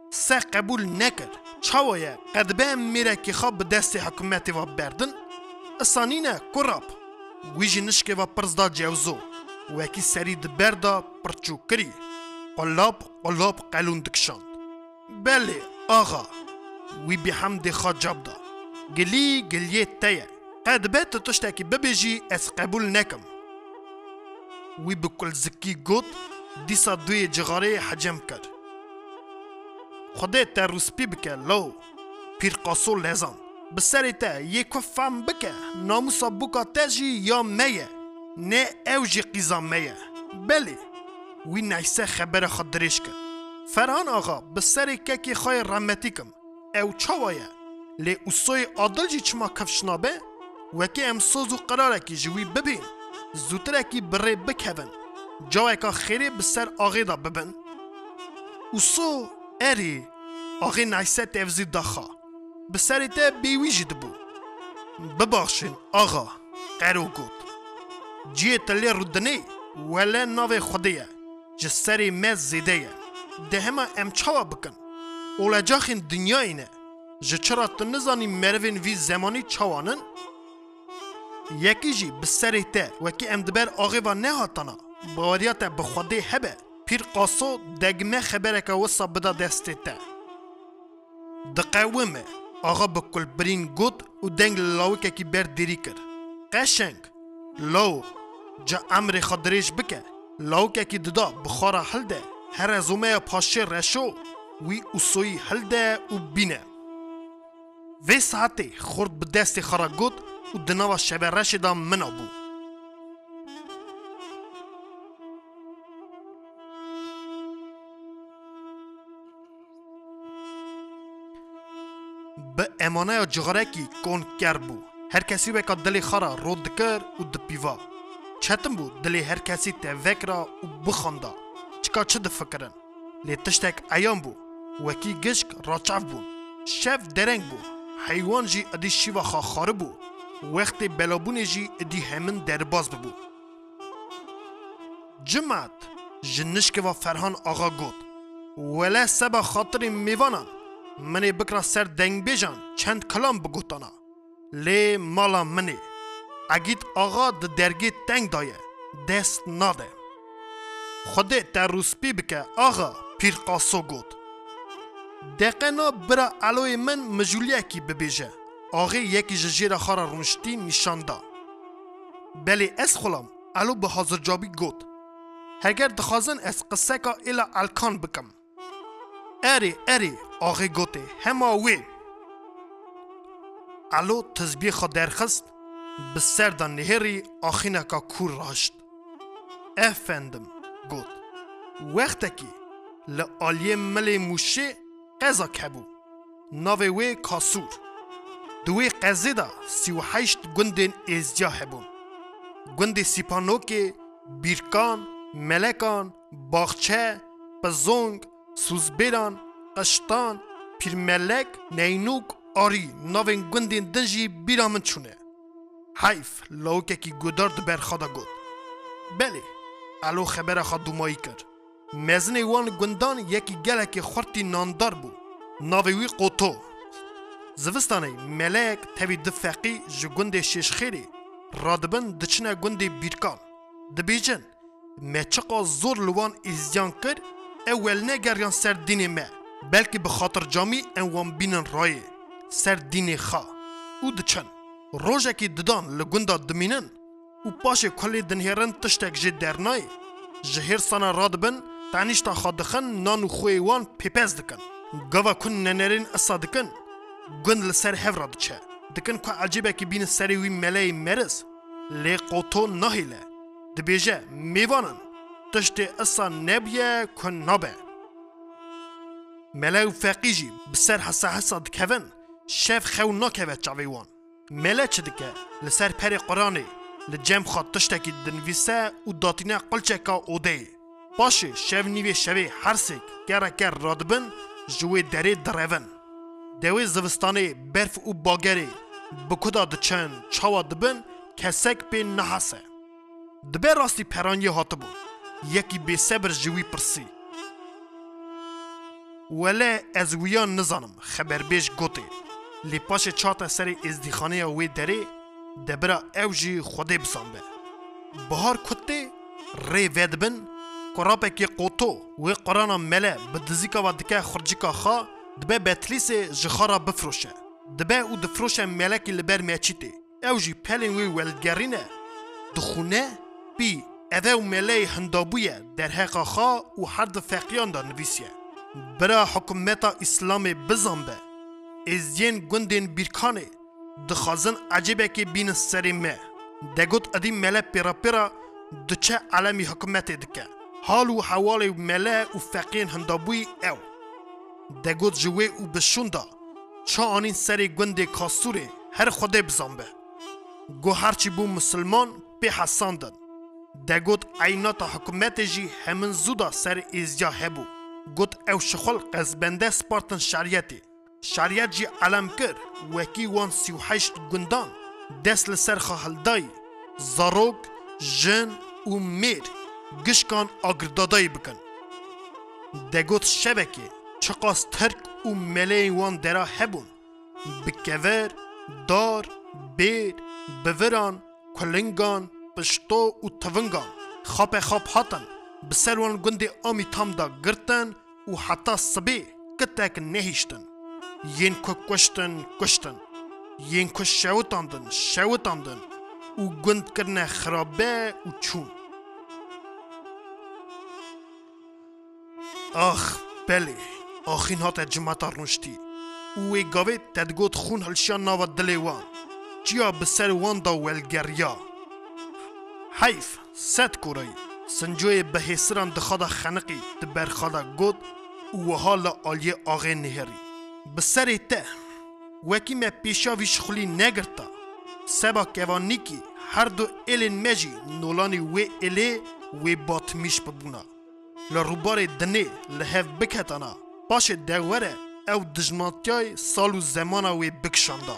سه قبول نکر چاویه قدبه میره که خواب به دست حکومتی و بردن اسانینه کراب ویجی نشکه و پرزدا جوزو وکی سری دبردا پرچو کری قلاب قلاب قلون دکشاند بله آغا وی بی حمد خواه جاب دا گلی گلیه تایه قدبه تتشتاکی ببیجی از قبول نکم وی بکل زکی گود دیسا دوی جغاره حجم کرد خدا تا روسپی بکه لو پیر قاسو لزان بسری تا یک فهم بکه ناموسا بوکا تجی یا میه نه اوجی قیزا میه بله وی نایسه خبر خود دریش کرد فرهان آقا بسری که که خواه رحمتی کم او چاوایه لی اصوی عادل جی چما کفشنابه وکی ام سوزو قراره که جوی ببین زودتره که بره بکهون جاوه که خیره بسر آغی دا ببین اصو اری آغی نایسه تفزی داخا بسری تا بیویجی دبو ببخشین آغا قرو گود جیه تلی رودنی ولی ناوی خودیه جسری مز زیده ده همه ام چاوا بکن اولا جاخین دنیا اینه جه چرا تنزانی مروین وی زمانی چاوانن یکی جی بسری تا وکی ام دبر آغی و نهاتانا باوریات بخودی هبه پیر قاسو دگمه خبره که وصا بدا دسته تا دقاومه آغا بکل برین گود و دنگ لاوکه کی بر دیری کر قشنگ لو جا امر خدریش بکه لاوکه کی ددا بخارا حل ده هر ازومه پاشه رشو وی اصوی حل ده و بینه وی ساعته خورد به دست خارا گود و دناوا شبه رش دا منا بو به امانه جغره کی کون کر بو هر کسی وکا دلی خارا رود دکر و دپیوا چتم بو دلی هر کسی تا وکرا و بخاندا چکا چه دفکرن لی تشتک ایام بو وکی گشک راچاف بون شف درنگ بو حیوان جی ادی شیوا خا خاره بو وقت بلابون جی ادی همین درباز ببو جمعت جنشک و فرهان آقا گود ولی سبا خاطر میوانان منی بکرا سر دنگ بیجان چند کلام بگوتانا لی مالا منی اگید آقا د درگی تنگ دایه دست ناده خوده تا روسپی بکه آقا پیر قاسو گود دقینا برا علوی من مجولیه کی ببیجه آقای یکی ججیر خارا رونشتی نشان دا بلی از خلام علو به حاضر جابی گود هگر دخوازن از قصه که ایلا الکان بکم اری اری آقای گوته همه وی علو تزبیه خود درخست به سر دا نهری آخینه که کور راشت افندم گود وقت که لآلیه ملی موشه قضا کبو ناوی وی کاسور دوی قضی دا سی و حیشت گندین ازجا هبون گند سیپانوکی بیرکان ملکان باغچه پزونگ سوزبیران قشتان پیرملک نینوک آری ناوین گندین دنجی بیرامن چونه حیف لاوکه کی گودار دبر خدا گود بله الو خبر خود دومایی کرد مزن وان گندان یکی گلک خورتی ناندار بو ناویوی قوتو زوستانه ملک تاوی دفقی جو گند شش خیری رادبن دچنه گند بیرکان دبیجن مچقا زور لوان ازیان کرد اول نگریان سر دین ما بلکه به خاطر جامی انوان بینن رای سر دین خوا او دچن روژه که ددان لگنده دمینن او پاش کلی دنهرن تشتک جد درنای جهر سانا رادبن تعنیشتا خادخن نانو خویوان پیپز دکن گوا کن ننرین اصا دکن گند لسر هفرا دچه دکن که عجیبه که بین سری وی ملی مرز لی قوتو نهیله دبیجه میوانن تشت اصا نبیه کن نابه ملی و فقیجی بسر حسا حسا دکون شف خو ناکوه چاویوان ملی چه دکه لسر پری قرانه لجم خواد تشتکی دنویسه و داتینه قلچه که اوده باشه شف نیوی شوی هرسک گره گر رادبن جوی دره درون دوی زوستانه برف و باگره بکدا دچن چاوا دبن کسک پی نحاسه دبه راستی پرانی هاتبو یکی بی صبر جوی پرسی ولی از ویان نزانم خبر بیش گوته لی پاش چاته سر ازدیخانه وی دره دبرا او جی خوده بسانبه بهار کته ری ودبن قرابکی قوتو وی قرانا مله بدزیکا و دکه خرجیکا خوا دبه بتلیس جخارا بفروشه دبه او دفروشه ملکی لبر میچیته او جی پلین وی ولدگرینه دخونه بی اوه مله هندابویه در حقا خوا و حرد فقیان دا نویسیه برا حکومتا اسلام بزنبه ازین گندین بیرکانه دخوازن عجیبه که بین سری مه دگوت ادی مله پیرا پیرا دچه علمی حکومت دکه حال و حوال مله و فقین هندابوی او دگوت جوه و بشوندا چا آنین سری گنده کاسوره هر خوده بزنبه گو هرچی بو مسلمان به حساندن دگوت عینات حکومت جی همین زودا سر ازیا هبو گوت او شخل قزبنده سپارتن شریعتی شریعت جی علم کر وکی وان سی و هشت گندان دست لسر خواهلدائی زاروگ جن و میر گشکان آگردادائی بکن دگوت شبکه چقاس ترک و ملی وان درا هبون بکور دار بیر بوران کلنگان پشتو و تونگان خواب خواب هاتن بسر وان گندی آمی تام دا گرتن و حتی سبی کتک نهیشتن ین که کشتن کشتن ین که شوتاندن شوتاندن و گند کرنه خرابه و چون آخ بله آخین هات جماعت رنشتی وی گاوه تدگوت خون هلشان ناو دلی وان جیا بسر وان دا ولگریا حیف ست کورایی سنجوی بهسران دخدا خنقی دبر خدا گود و حال آلی آغه نهری بسر ته وکی ما پیشا ویش خلی نگرتا سبا کوانی کی هر دو ایلین مجی نولانی وی ایلی وی باتمیش ببونا لروبار دنه لحف بکتانا باش دوره او دجماتیای سالو زمانا وی بکشاندا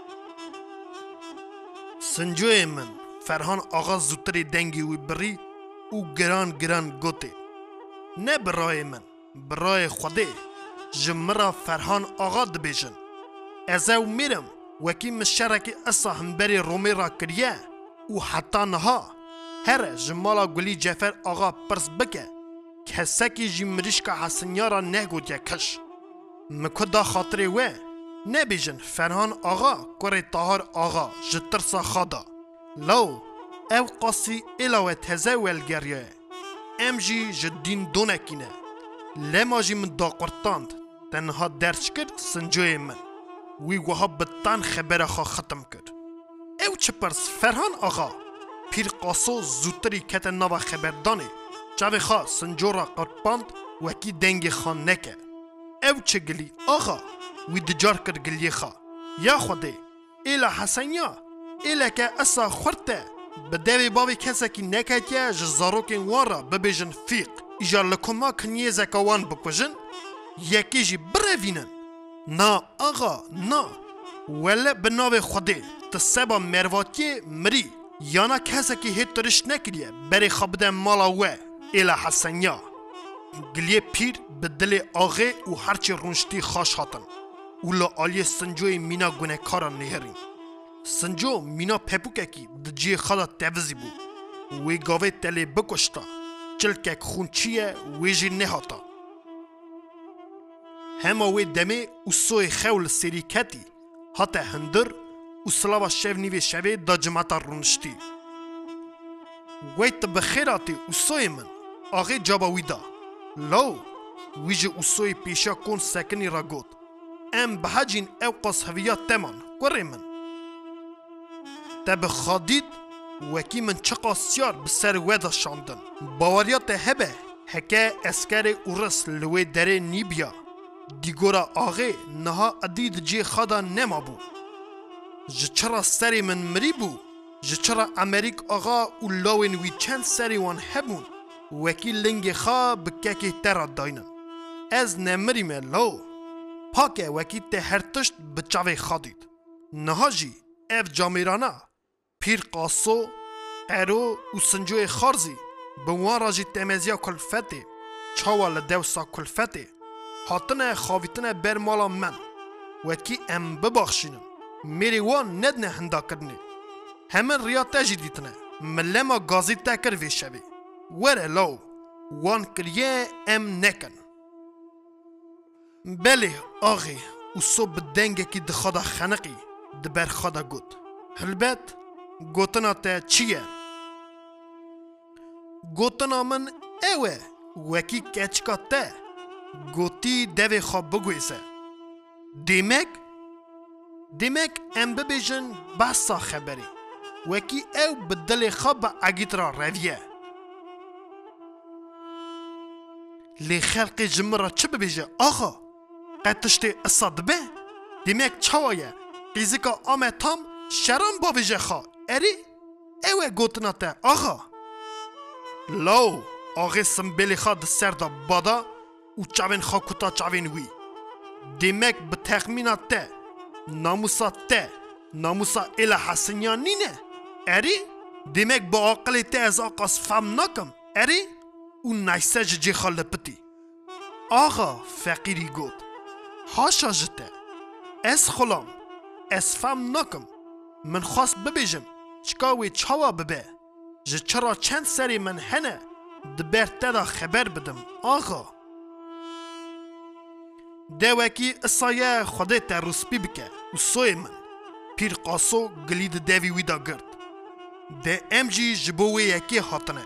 سنجوی من فرهان آغا زودتری دنگی وی بری او گران گران گوته نه برای من برای خوده جمرا فرهان آغا دبیجن از او میرم وکی مشارکی اصا همبری رومی را کریه و حتی نها هر جمالا گلی جفر آغا پرس بکه کسکی جی مریشکا حسنیارا نگو دیا کش مکدا خاطره وی نبیجن فرهان آغا کره طاهر آغا جترسا خادا لو او قاسی الاوه تزه ولگریه ام جی جدین دونکینه لما جی من دا قرطاند تنها درچ کرد سنجوی من وی وها بطان خبره خوا ختم کرد او چه پرس فرهان آغا پیر قاسو زودتری کت نوا خبردانه چاوی خواه سنجورا قرپاند وکی دنگ خان نکه او چه گلی آغا وی دجار کرد گلی خواه یا خوده ایلا حسنیا ایلا که اصا خورته بدوی باوی کسا کی نکتیا جزاروکین وان را ببیجن فیق ایجا لکما کنیه زکاوان بکوژن یکی جی بروینن نا آغا نا ولی بناوی خوده تسبا مرواتی مری یانا کسا کی هیت ترش نکریه بری خبده مالا و ایلا حسنیا گلیه پیر به دل آغه و هرچی رونشتی خاش هاتن اولا آلی سنجوی مینا گونه کارا نهرین سنجو مینا پپوکه کی دجی خدا تفزی بو وی گاوه تلی بکشتا چلکک خون چیه ویجی نهاتا همه وی دمه و سوی خول سریکتی حتی هندر و سلاوا شو نیوی شوی دا جماعتا رونشتی وی تبخیراتی و سوی من آغی جابا ویدا لو ویجی و سوی پیشا کن سکنی را گود ام بحجین او قاس هویات تمان کوری من تب خادید وکی من چقا سیار بسر ودا شاندن باوریات هبه هکه اسکر اورس لوی دره نیبیا دیگورا آغه نها ادید جی خدا نما بو جچرا سری من مری بو جچرا امریک آغا و لاوین وی چند سری وان هبون وکی لنگ خوا بککی ترا داینن از نمری من لو پاکه وکی ته هرتشت بچاوی خادید نها جی اف جامیرانا پیر قاسو ارو و سنجوی خارزی به وان راجی تمزیا کلفته چاوا لدوسا کلفته هاتنه خاویتنه بر مالا من وکی ام ببخشینم میری وان ندنه هندا کرنه همین ریا تجی دیتنه ملما گازی تکر وی شوی وره لو وان کریه ام نکن بله آغی و صبح دنگه کی دخدا خنقی دبر خدا گوت هلبت گوتنا تا چیه گوتنا من اوه وکی کچکا تا گوتی دوی خواب بگویسه دیمک دیمک ام ببیجن بحثا خبری وکی او بدل خواب اگیت را رویه لی خلق جمرا چه ببیجه آخا قطشتی اصاد به دیمک چوایه قیزیکا آمه تام شرم باویجه خوا اری اوه گوتنا تا آخا لو آغی سنبیلی خواه ده سر دا بادا و چاوین خواه کتا چاوین وی دیمک به تخمینات ته ناموسا ته ناموسا ایلا حسنیان نینه اری دیمک با عقلی ته از آقاس فهم نکم اری و نیسج جی خال پتی آقا فقیری گود هاشا جته اس خلام اس فهم نکم من خواست ببیجم چکاوی چاوا ببه جه چرا چند سری من هنه دبر تدا خبر بدم آقا دوکی اصایه خوده تا روسپی بکه و سوی من پیر قاسو گلید دوی ویدا گرد ده ام جی جبوه یکی حاطنه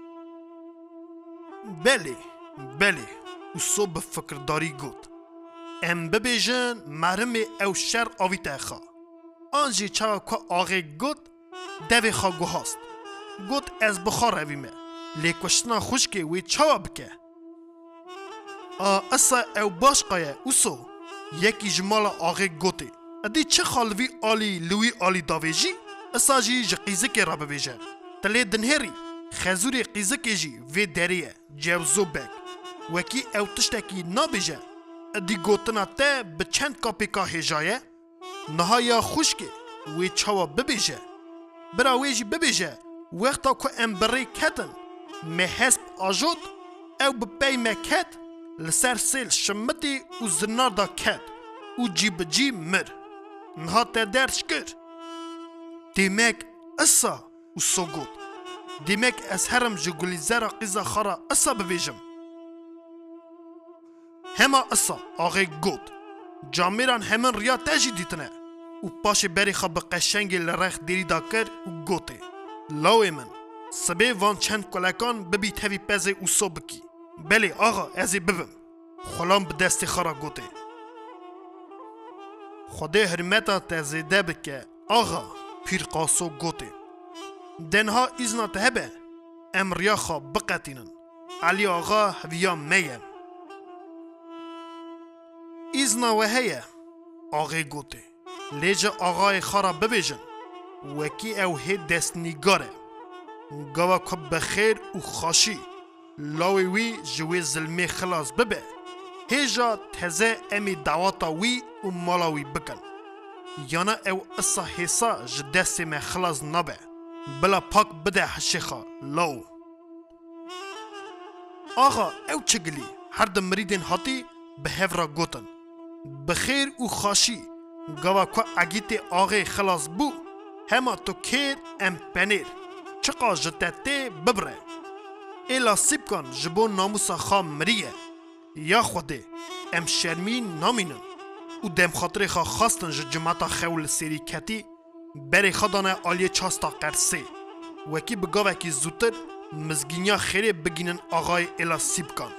بله بله و سو بفکرداری گود ام ببیجن مرم او شر آوی تخوا آنجی چاو که آغی گود دوی خوا گو هاست گود از بخار رویمه لیکوشتنا خوشکی وی چاوا بکه آ اصا او باش قایه اوسو یکی جمال آغی گوته ادی چه خالوی آلی لوی آلی داویجی اصا جی جی قیزکی را ببیجه تلی دنهری خزوری قیزکی جی وی دریه جوزو بک وکی او تشتکی نابیجه ادی گوتنا ته به چند کاپی که هجایه نهایا خوشکی وی چاوا ببیجه برا ویجی ببیجه وقتا که ام بری کتن می حسب آجود او بپی مکت لسر سیل شمتی و زنار دا کت و جی بجی مر نها تا درش کر دیمک اصا و سو گود دیمک از هرم جگولی زر قیزا خارا اصا ببیجم هما اصا آغی گود جامیران همین ریا تجی دیتنه و پاش بری خواب قشنگی لرخ دیری دا کر و گوته لاوی من سبه وان چند کلکان ببی تاوی پزه و سو بکی بله آقا ازی ببم خلام به دستی خارا گوته خوده حرمتا تزیده بکه آقا پیر قاسو گوته دنها ایزنا تهبه امریا خواب بقتینن علی آقا هویا میم ایزنا وهیه آقای گوته لیجا آقای خارا ببیجن وکی او هی دست نیگاره گوا کب بخیر و خاشی لاوی وی جوی ظلمی خلاص ببه هیجا تزه امی دعواتا وی و مالاوی بکن یانا او اصا حیصا جدستی میں خلاص نبه بلا پاک بده حشیخا لاو آقا او چگلی هر دم مریدین هاتی به هفرا گوتن بخیر و خاشی گوا که اگیت آقای خلاص بو هما تو کیر ام پنیر چقا جتته ببره ایلا سیب کن جبو ناموسا خواه مریه یا خوده ام شرمی نامینن و دم خاطر خواه خواستن جماعتا خول سری کتی بری خدانه آلیه چاستا قرسه وکی بگاوه که زودتر مزگینیا خیره بگینن آقای ایلا سیب کن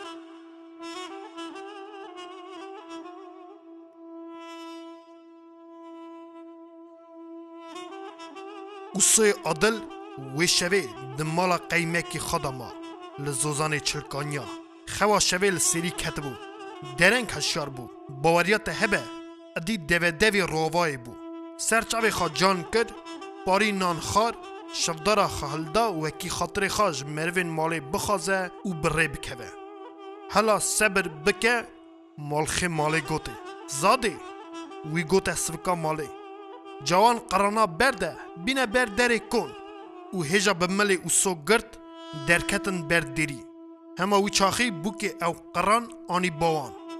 اوسوی عادل وی شوه دمالا قیمکی خداما لزوزان چلکانیا خوا شوه لسری کتبو درنگ هشیار بو باوریات هبه ادی دوه دوی روای بو سرچاوی خواه جان کرد پاری نان خار شفدارا خهلدا وکی خاطر خاج مروین مالی بخوازه و بره بکوه حالا صبر بکه مالخی مالی گوته زاده وی گوته سوکا مالی جوان قرانا برده بینه بر دره کن و هجا بملی و سو گرد درکتن بر دری همه وی چاخی بو که او قران آنی باوان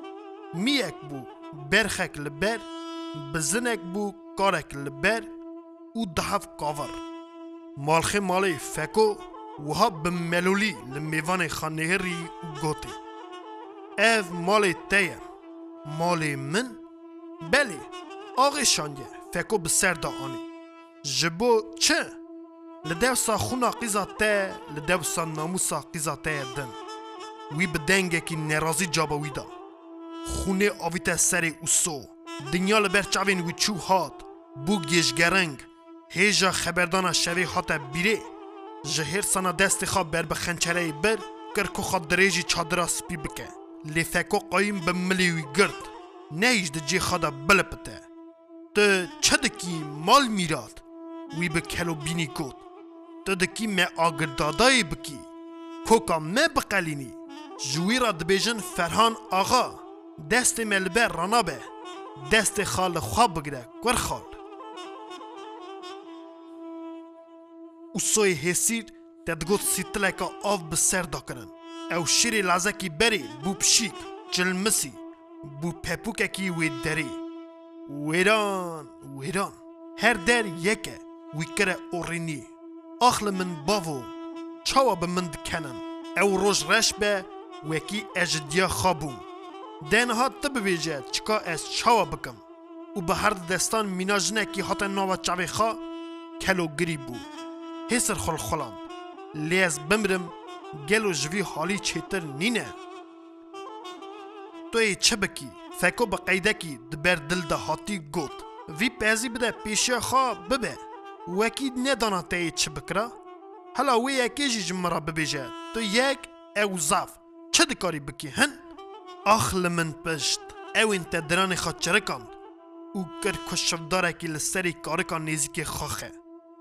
میک بو برخک لبر بزنک بو کارک لبر و دهف کاور مالخه مالی فکو وها بملولی لمیوان خانهری و گوتی اف مالی تیم مالی من بله آغی شانگه فکو بسر دا آنی جبو چه؟ لدوسا خونا قیزا ته لدوسا ناموسا قیزا ته دن وی بدنگه کی نرازی جابوی دا خونه آویته سری اوسو دنیا لبر چاوین وی چو هات بو گیشگرنگ هیجا خبردانا شوی هاته بیره جهر سانا دست خواب بر بخنچره بر کرکو خواد دریجی چادرا سپی بکه لی فکو قایم بملیوی گرد نیج ده جی خوادا بلپته ته چه دکی مال میراد وی بکلو بینی گود ته دکی ما آگردادای بکی کوکا ما بقلینی جوی را دبیجن فرهان آغا دست ملبر رانا به دست خال خواب بگره گر خال او سوی حسیر تدگوت سیتلکا آف بسر دا کرن او شیری لازکی بری بو پشیک جلمسی بو پپوککی وی دری ویران ویران هر در یکه وی کره اورینی اخل من باو چاوا به من دکنن او روش رش به وکی اجدیا خوابون دنها تبویجه چکا از چاوا بکم و به هر دستان میناجنه کی حتی نوا چاوی خوا کلو گری بو هسر خل خلان لیز بمرم گلو جوی حالی چیتر نینه توی چه بکی فکو با قیده کی دبر دل ده هاتی گوت وی پیزی بده پیشه خوا ببه وکی ندانا تایی چه بکره حالا وی یکی جی جمرا ببیجه تو یک او زاف چه دکاری بکی هن اخل من پشت او انت دران خواد چرکاند او کر کشفداره که لسری کارکان نیزی که خاخه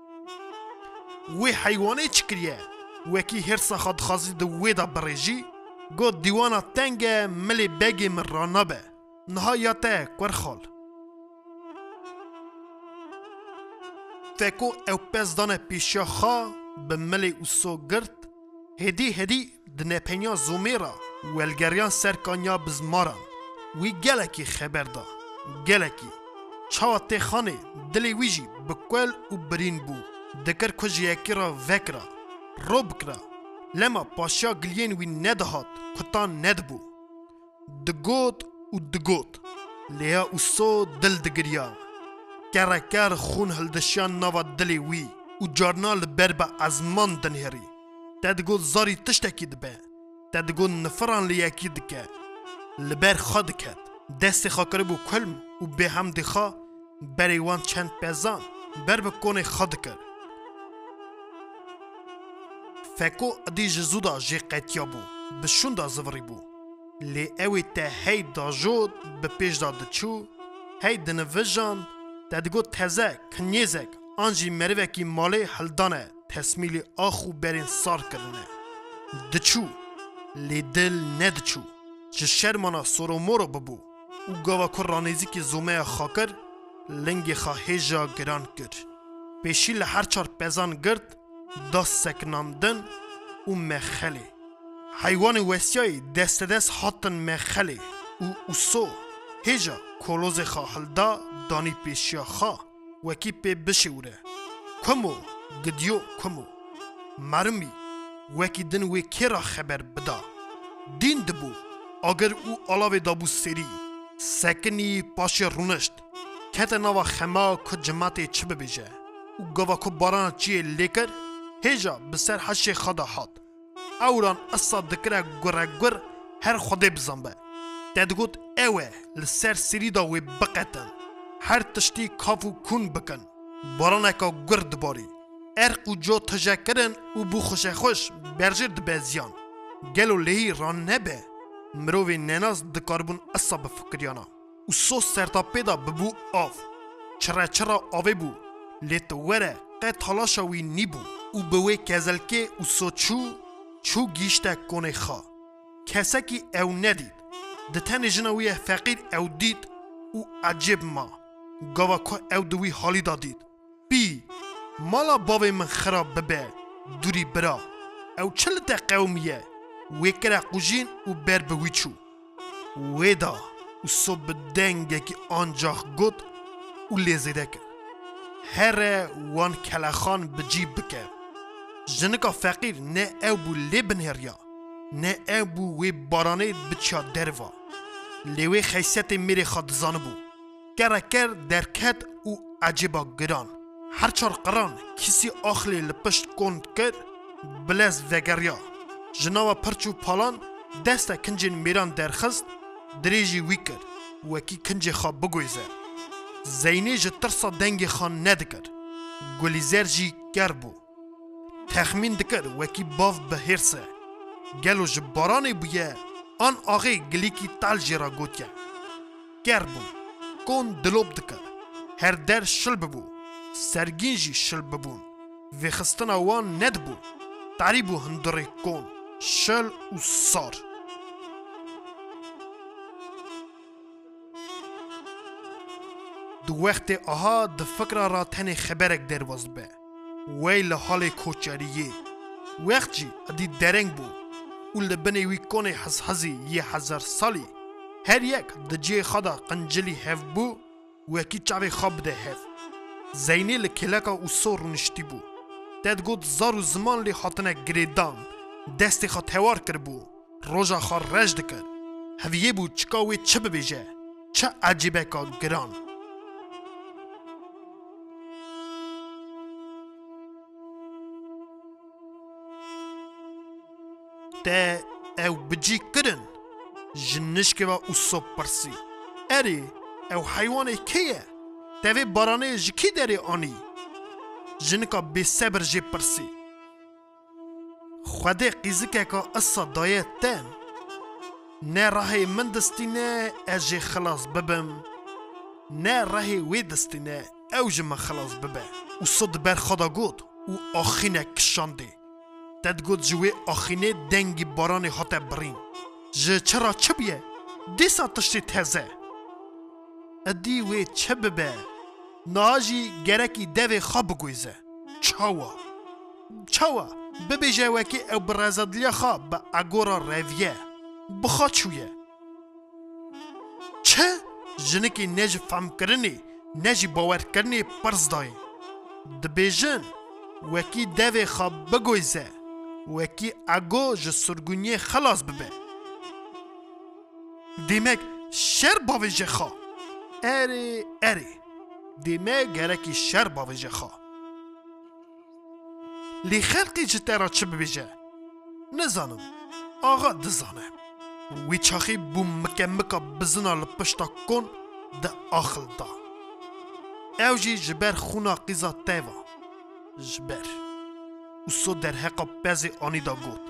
وی حیوانه چکریه وکی هرسا خاد خازی دو وی دا بریجی گو دیوانا تنگ ملی بگی من رانا به نهایت کور خال فکو او پس دانه پیشا خوا به ملی اوسو گرد هدی هدی دنه پنیا زومیرا ولگریان سرکانیا بزماران وی گلکی خبر دا گلکی چاوا تی خانه دلی ویجی بکول و برین بو دکر کجی یکی را وکرا رو بکرا لما پاشا گلین وی ندهات کتان ند بو دگوت و دگوت لیا اوسو دل دگریا کرکر خون هلدشان نوا دلی وی و جارنال بربا ازمان دنهری تدگوت زاری تشتکی دبه تدگوت نفران لیاکی دکه لبر خاد کد دست خاکر بو کلم و به هم دخا بریوان چند پیزان بر بکونه خاد کر فکو ادی جزودا جی قیتیا بو بشون دا زوری بو لی اوی تا هی دا جود به پیش دا دچو هی دنویجان تدگو تزه کنیزک آنجی مروکی مالی هلدانه تسمیلی آخو برین سار کرنه دچو لی دل ندچو جه شرمانا سورو مورو ببو او گاوا کر رانیزی که زومه خاکر لنگی خواهیجا گران کر پیشی لحر چار پیزان گرد دا سکنامدن و مخلی حیوان وسیای دست دست هاتن مخلی و اوسو هیجا کلوز خواهل دا دانی پیشیا خواه وکی پی بشوره کمو گدیو کمو مرمی وکی دن وی کرا خبر بدا دین دبو اگر او علاوه دابو سری سکنی پاش رونشت کت نوا خما که جماعت چه ببیجه او گوا که باران چیه لیکر هیجا بسر حش خدا هات اوران اصا دکره گره گر هر خوده بزنبه تدگوت اوه لسر سری دا وی بقیتن هر تشتی کافو کون بکن بارانکا گرد باری ارق و جو تجکرن و بو خوش خوش برجر دبزیان گلو لهی ران نبه مروی نناز دکاربون اصا بفکریانا و سو سرتا پیدا ببو آف چرا چرا آوه بو لیت وره قید حالاشا وی نی بو و بوی کزلکه و سو چو چو گیشته کنه خوا کسا کی او ندید دتن جنوی فقیر او دید و عجب ما گاوا که او دوی حالی دادید بی مالا باوی من خراب ببه دوری برا او چلت قومیه وی کرا قوجین و بر بوی چو وی دا و صبح دنگه که آنجاخ گود و لیزیده کرد. هر وان کلخان بجیب بکر. جنکا فقیر نه او بو لیبن هریا. نه او بو وی بارانه بچیا دروا. لیوی خیسیت میره خود زانه بو. کرکر درکت و عجیبا گران. هر چار قران کسی آخلی لپشت کند کرد بلز وگریا. جناوا پرچو پالان دسته کنجین میران درخست دریجی وی کرد وکی کنجی خواب بگویزه. زینی جه ترسا دنگی خان ندکر. گلیزر جی گر بو. تخمین دکر وکی باف بهرسه. گلو جه بارانی بویه آن آغی گلیکی تال جی را گوتیه. گر بو. کون دلوب دکر. هر در شل ببو. سرگین جی شل ببون. و خستنا وان ند بو. تعریبو هندره کون. شل و سار. دو وقت آها د فکر را تنه خبرک درواز به. ویل حال کوچاریه. وقت جی ادی درنگ بو. و لبنی وی کنه حز حزی یه هزار سالی. هر یک د جی خدا قنجلی هف بو و کی چاوی خواب ده هف. زینی لکلکا و سور نشتی بو. تد گود زارو زمان لی حاطنه گریدان. دستی خوا توار کر بو. روژا خوا رجد کر. هویه بو چکاوی چه ببیجه. چه عجیبه که گران. ده او بجی کرن. جنشک و اوسو پرسی. اری او حیوان کیه؟ دوی بارانه جکی داری آنی. جنکا بی صبر جی پرسی. خوده قیزکه که اصا دایه تن. نه راهی من دستی نه اجی خلاص ببم. نه راهی وی دستی نه اوج من خلاص ببه. و صد بر خدا گود و آخینه کشانده. تد گود جوی آخینه دنگی بارانی حتا برین. جه چرا چه بیه؟ دیسا تشتی تزه. ادی وی چه ببه؟ ناجی گرکی دوی خواب گویزه. چاوا چاوا ببیجه وکی او برازدلیا خواب با اگورا رویه بخواد چویه. چه؟ جنکی نج فهم کرنی نجی باور کرنی پرز دای. دبیجن وکی دوی خواب بگویزه وکی اگو جه سرگونی خلاص ببه. دیمک شر باویجه خواه. اری اری دیمه گرکی شر باویجه خواه. لی خلقی جته را چه ببیجه؟ نزانم. آقا دزانه. وی چاخی بو مکه مکه بزنا لپشتا کن ده آخل دا. او جی جبر خونا قیزا تیوا. جبر. و سو در حقا بزی آنی دا گود.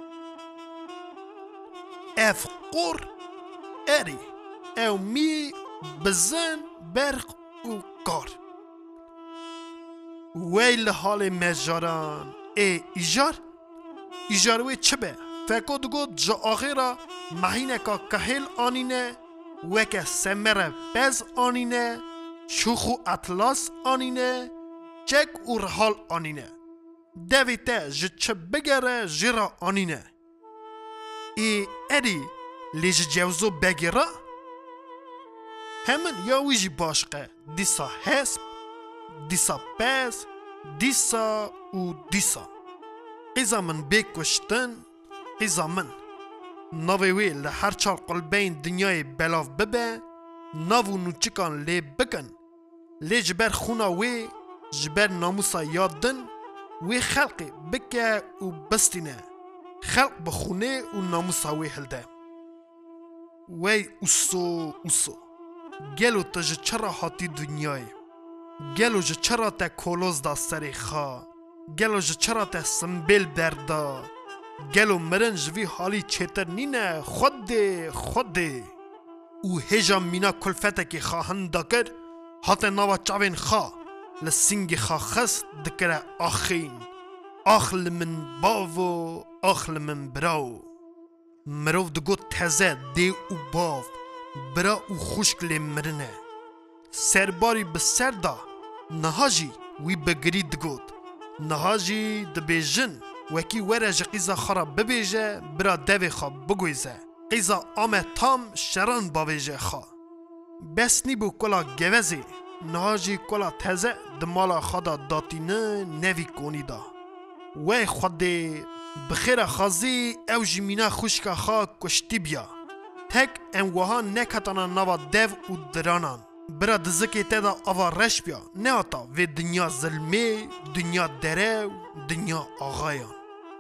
اف قور اری. او می بزن برق و کار. ویل حال مجاران ای ایجار؟ ایجاروی چه به؟ فکر دگود جا آخیرا مهینه که کهل آنینه وکه سمره بز آنینه شوخو اطلاس آنینه چک و رحال آنینه دویته جه چه بگره جیرا آنینه ای ادی لیج جوزو بگیره؟ همین یا ویجی باشقه دیسا حسب دیسا پس دیسا و دیسا قیزا من بکشتن قیزا من ناوی وی لحر چار قلبین دنیای بلاف ببه ناو نوچکان لی بکن لی جبر خونا وی جبر ناموسا یادن وی خلقی بکه و بستینه خلق بخونه و ناموسا وی هلده وی اوسو اوسو گلو تا جه چرا حاتی دنیای گلو جه چرا تا کولوز دا سری خواه گلو جه چرا تا سنبیل بردا گلو مرن جوی حالی چیتر نینه خود ده خود ده او هجا مینا کلفته که خواهن دا کر حتی ناوا چاوین خواه لسینگ خواه خست دکره آخین آخل من باو آخل من براو مروف دگو تزه ده او باو برا او خوشک لی مرنه سرباری بسر دا نهاجی وی بگری دگود نهاجی دبیجن وکی وره جه قیزا خراب ببیجه برا دوی خواب بگویزه قیزا آمه تام شران باویجه خوا بس نی بو کلا گوزی نهاجی کلا تزه دمالا خدا داتینه نوی کونی دا وی خود بخیر خازی او جمینا خوشکا خوا کشتی بیا تک انوها نکتانا نوا دیو و درانان برا دزکی تدا آوا رش بیا نه آتا و دنیا ظلمه دنیا دره دنیا آغایان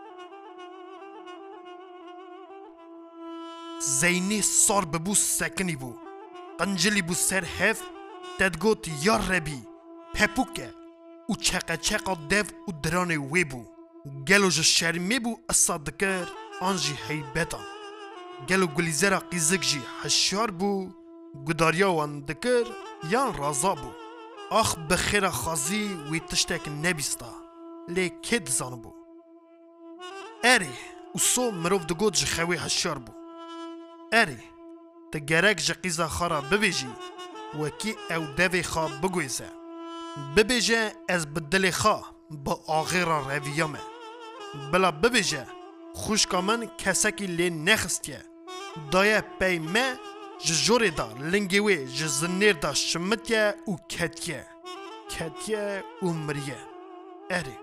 زینی سار ببو سکنی بو قنجلی بو سر هف تدگوت یار ربی پپوکه او چقه چقه دیو و درانه وی بو گلو جو شرمی بو اصادکر آنجی حیبتان گلو گلیزرا قیزک جی حشار بو گداریا وان دکر یان رازا بو آخ بخیر خازی وی تشتک نبیستا لی کد زانو بو اری او سو مروف دگو جی خوی حشار بو اری تگرک جی قیزا خارا ببیجی وکی او دوی خواه بگویزه ببیجه از بدل خواه با آغیرا رویامه بلا ببیجه خوشکا من کسکی لی نخستیه دایه پیمه جزوری دا لنگیوی جزنیر دا شمتیه و کتیه کتیه و مریه اری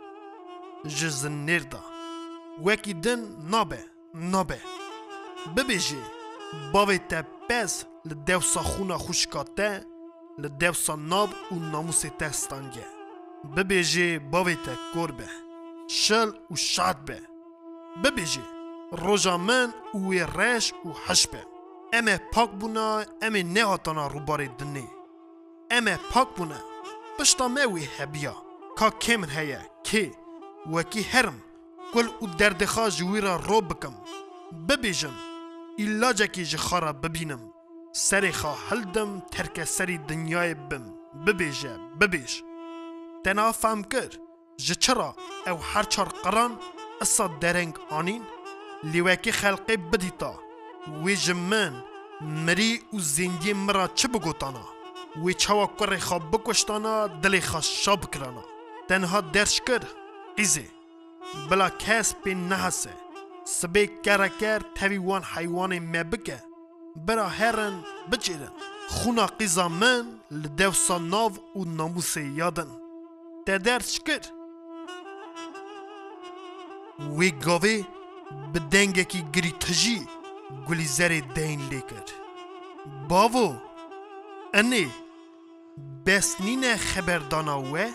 جزنیر دا وکی دن نابه نابه ببیجه باوی تا پس لدوسا خونا خوشکا تا لدوسا ناب و ناموس تستانگه ببیجه باوی تا کربه شل و شاد به ببیجه روژا من و رش و حشبه امه پاک بونا امه نهاتانا روباره دنی امه پاک بونا پشتا موی هبیا که کمن هیا که وکی هرم کل او دردخوا جویرا رو بکم ببیجم ایلاجه که جخارا ببینم سری خواه هلدم ترک سری دنیای بم ببیجه ببیج تنا فهم کر جچرا او هر چار قران اصا درنگ آنین لیوکی خلقی بدیتا وی جمن مری و زندگی مرا چه بگوتانا وی چوا کره خواب بکشتانا دلی خواه شاب کرانا تنها درش کر قیزه بلا کس پی نحسه سبه کرکر تاوی وان حیوان مبکه برا هرن بچیرن خونا قیزا من لدوسا ناو و ناموس یادن تا درش کر وی گاوه بدنگه کی گری تجی گلی زر دین لیکر باوو انه بس نینه خبردانا وه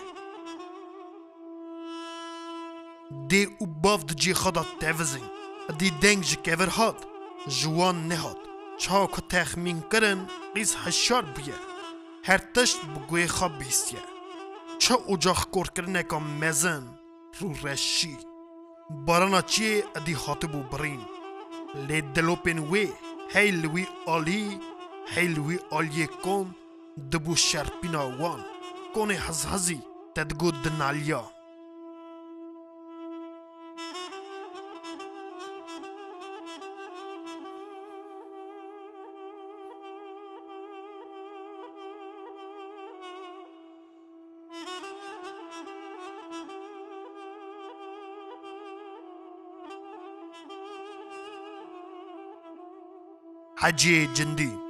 دی او باو دجی خدا تفزین دی دنگ جکیور هاد جوان نهاد چا که تخمین کرن قیز هشار بیه هر تشت بگوی خواب بیستیه چه اجاق کور کرنه که مزن رو رشی بارانا چیه ادی خاطبو برین لی دلوپین وی هی لوی آلی هی لوی آلی کن دبو شرپینا وان کن هز هزی تدگو دنالیا حجی جندی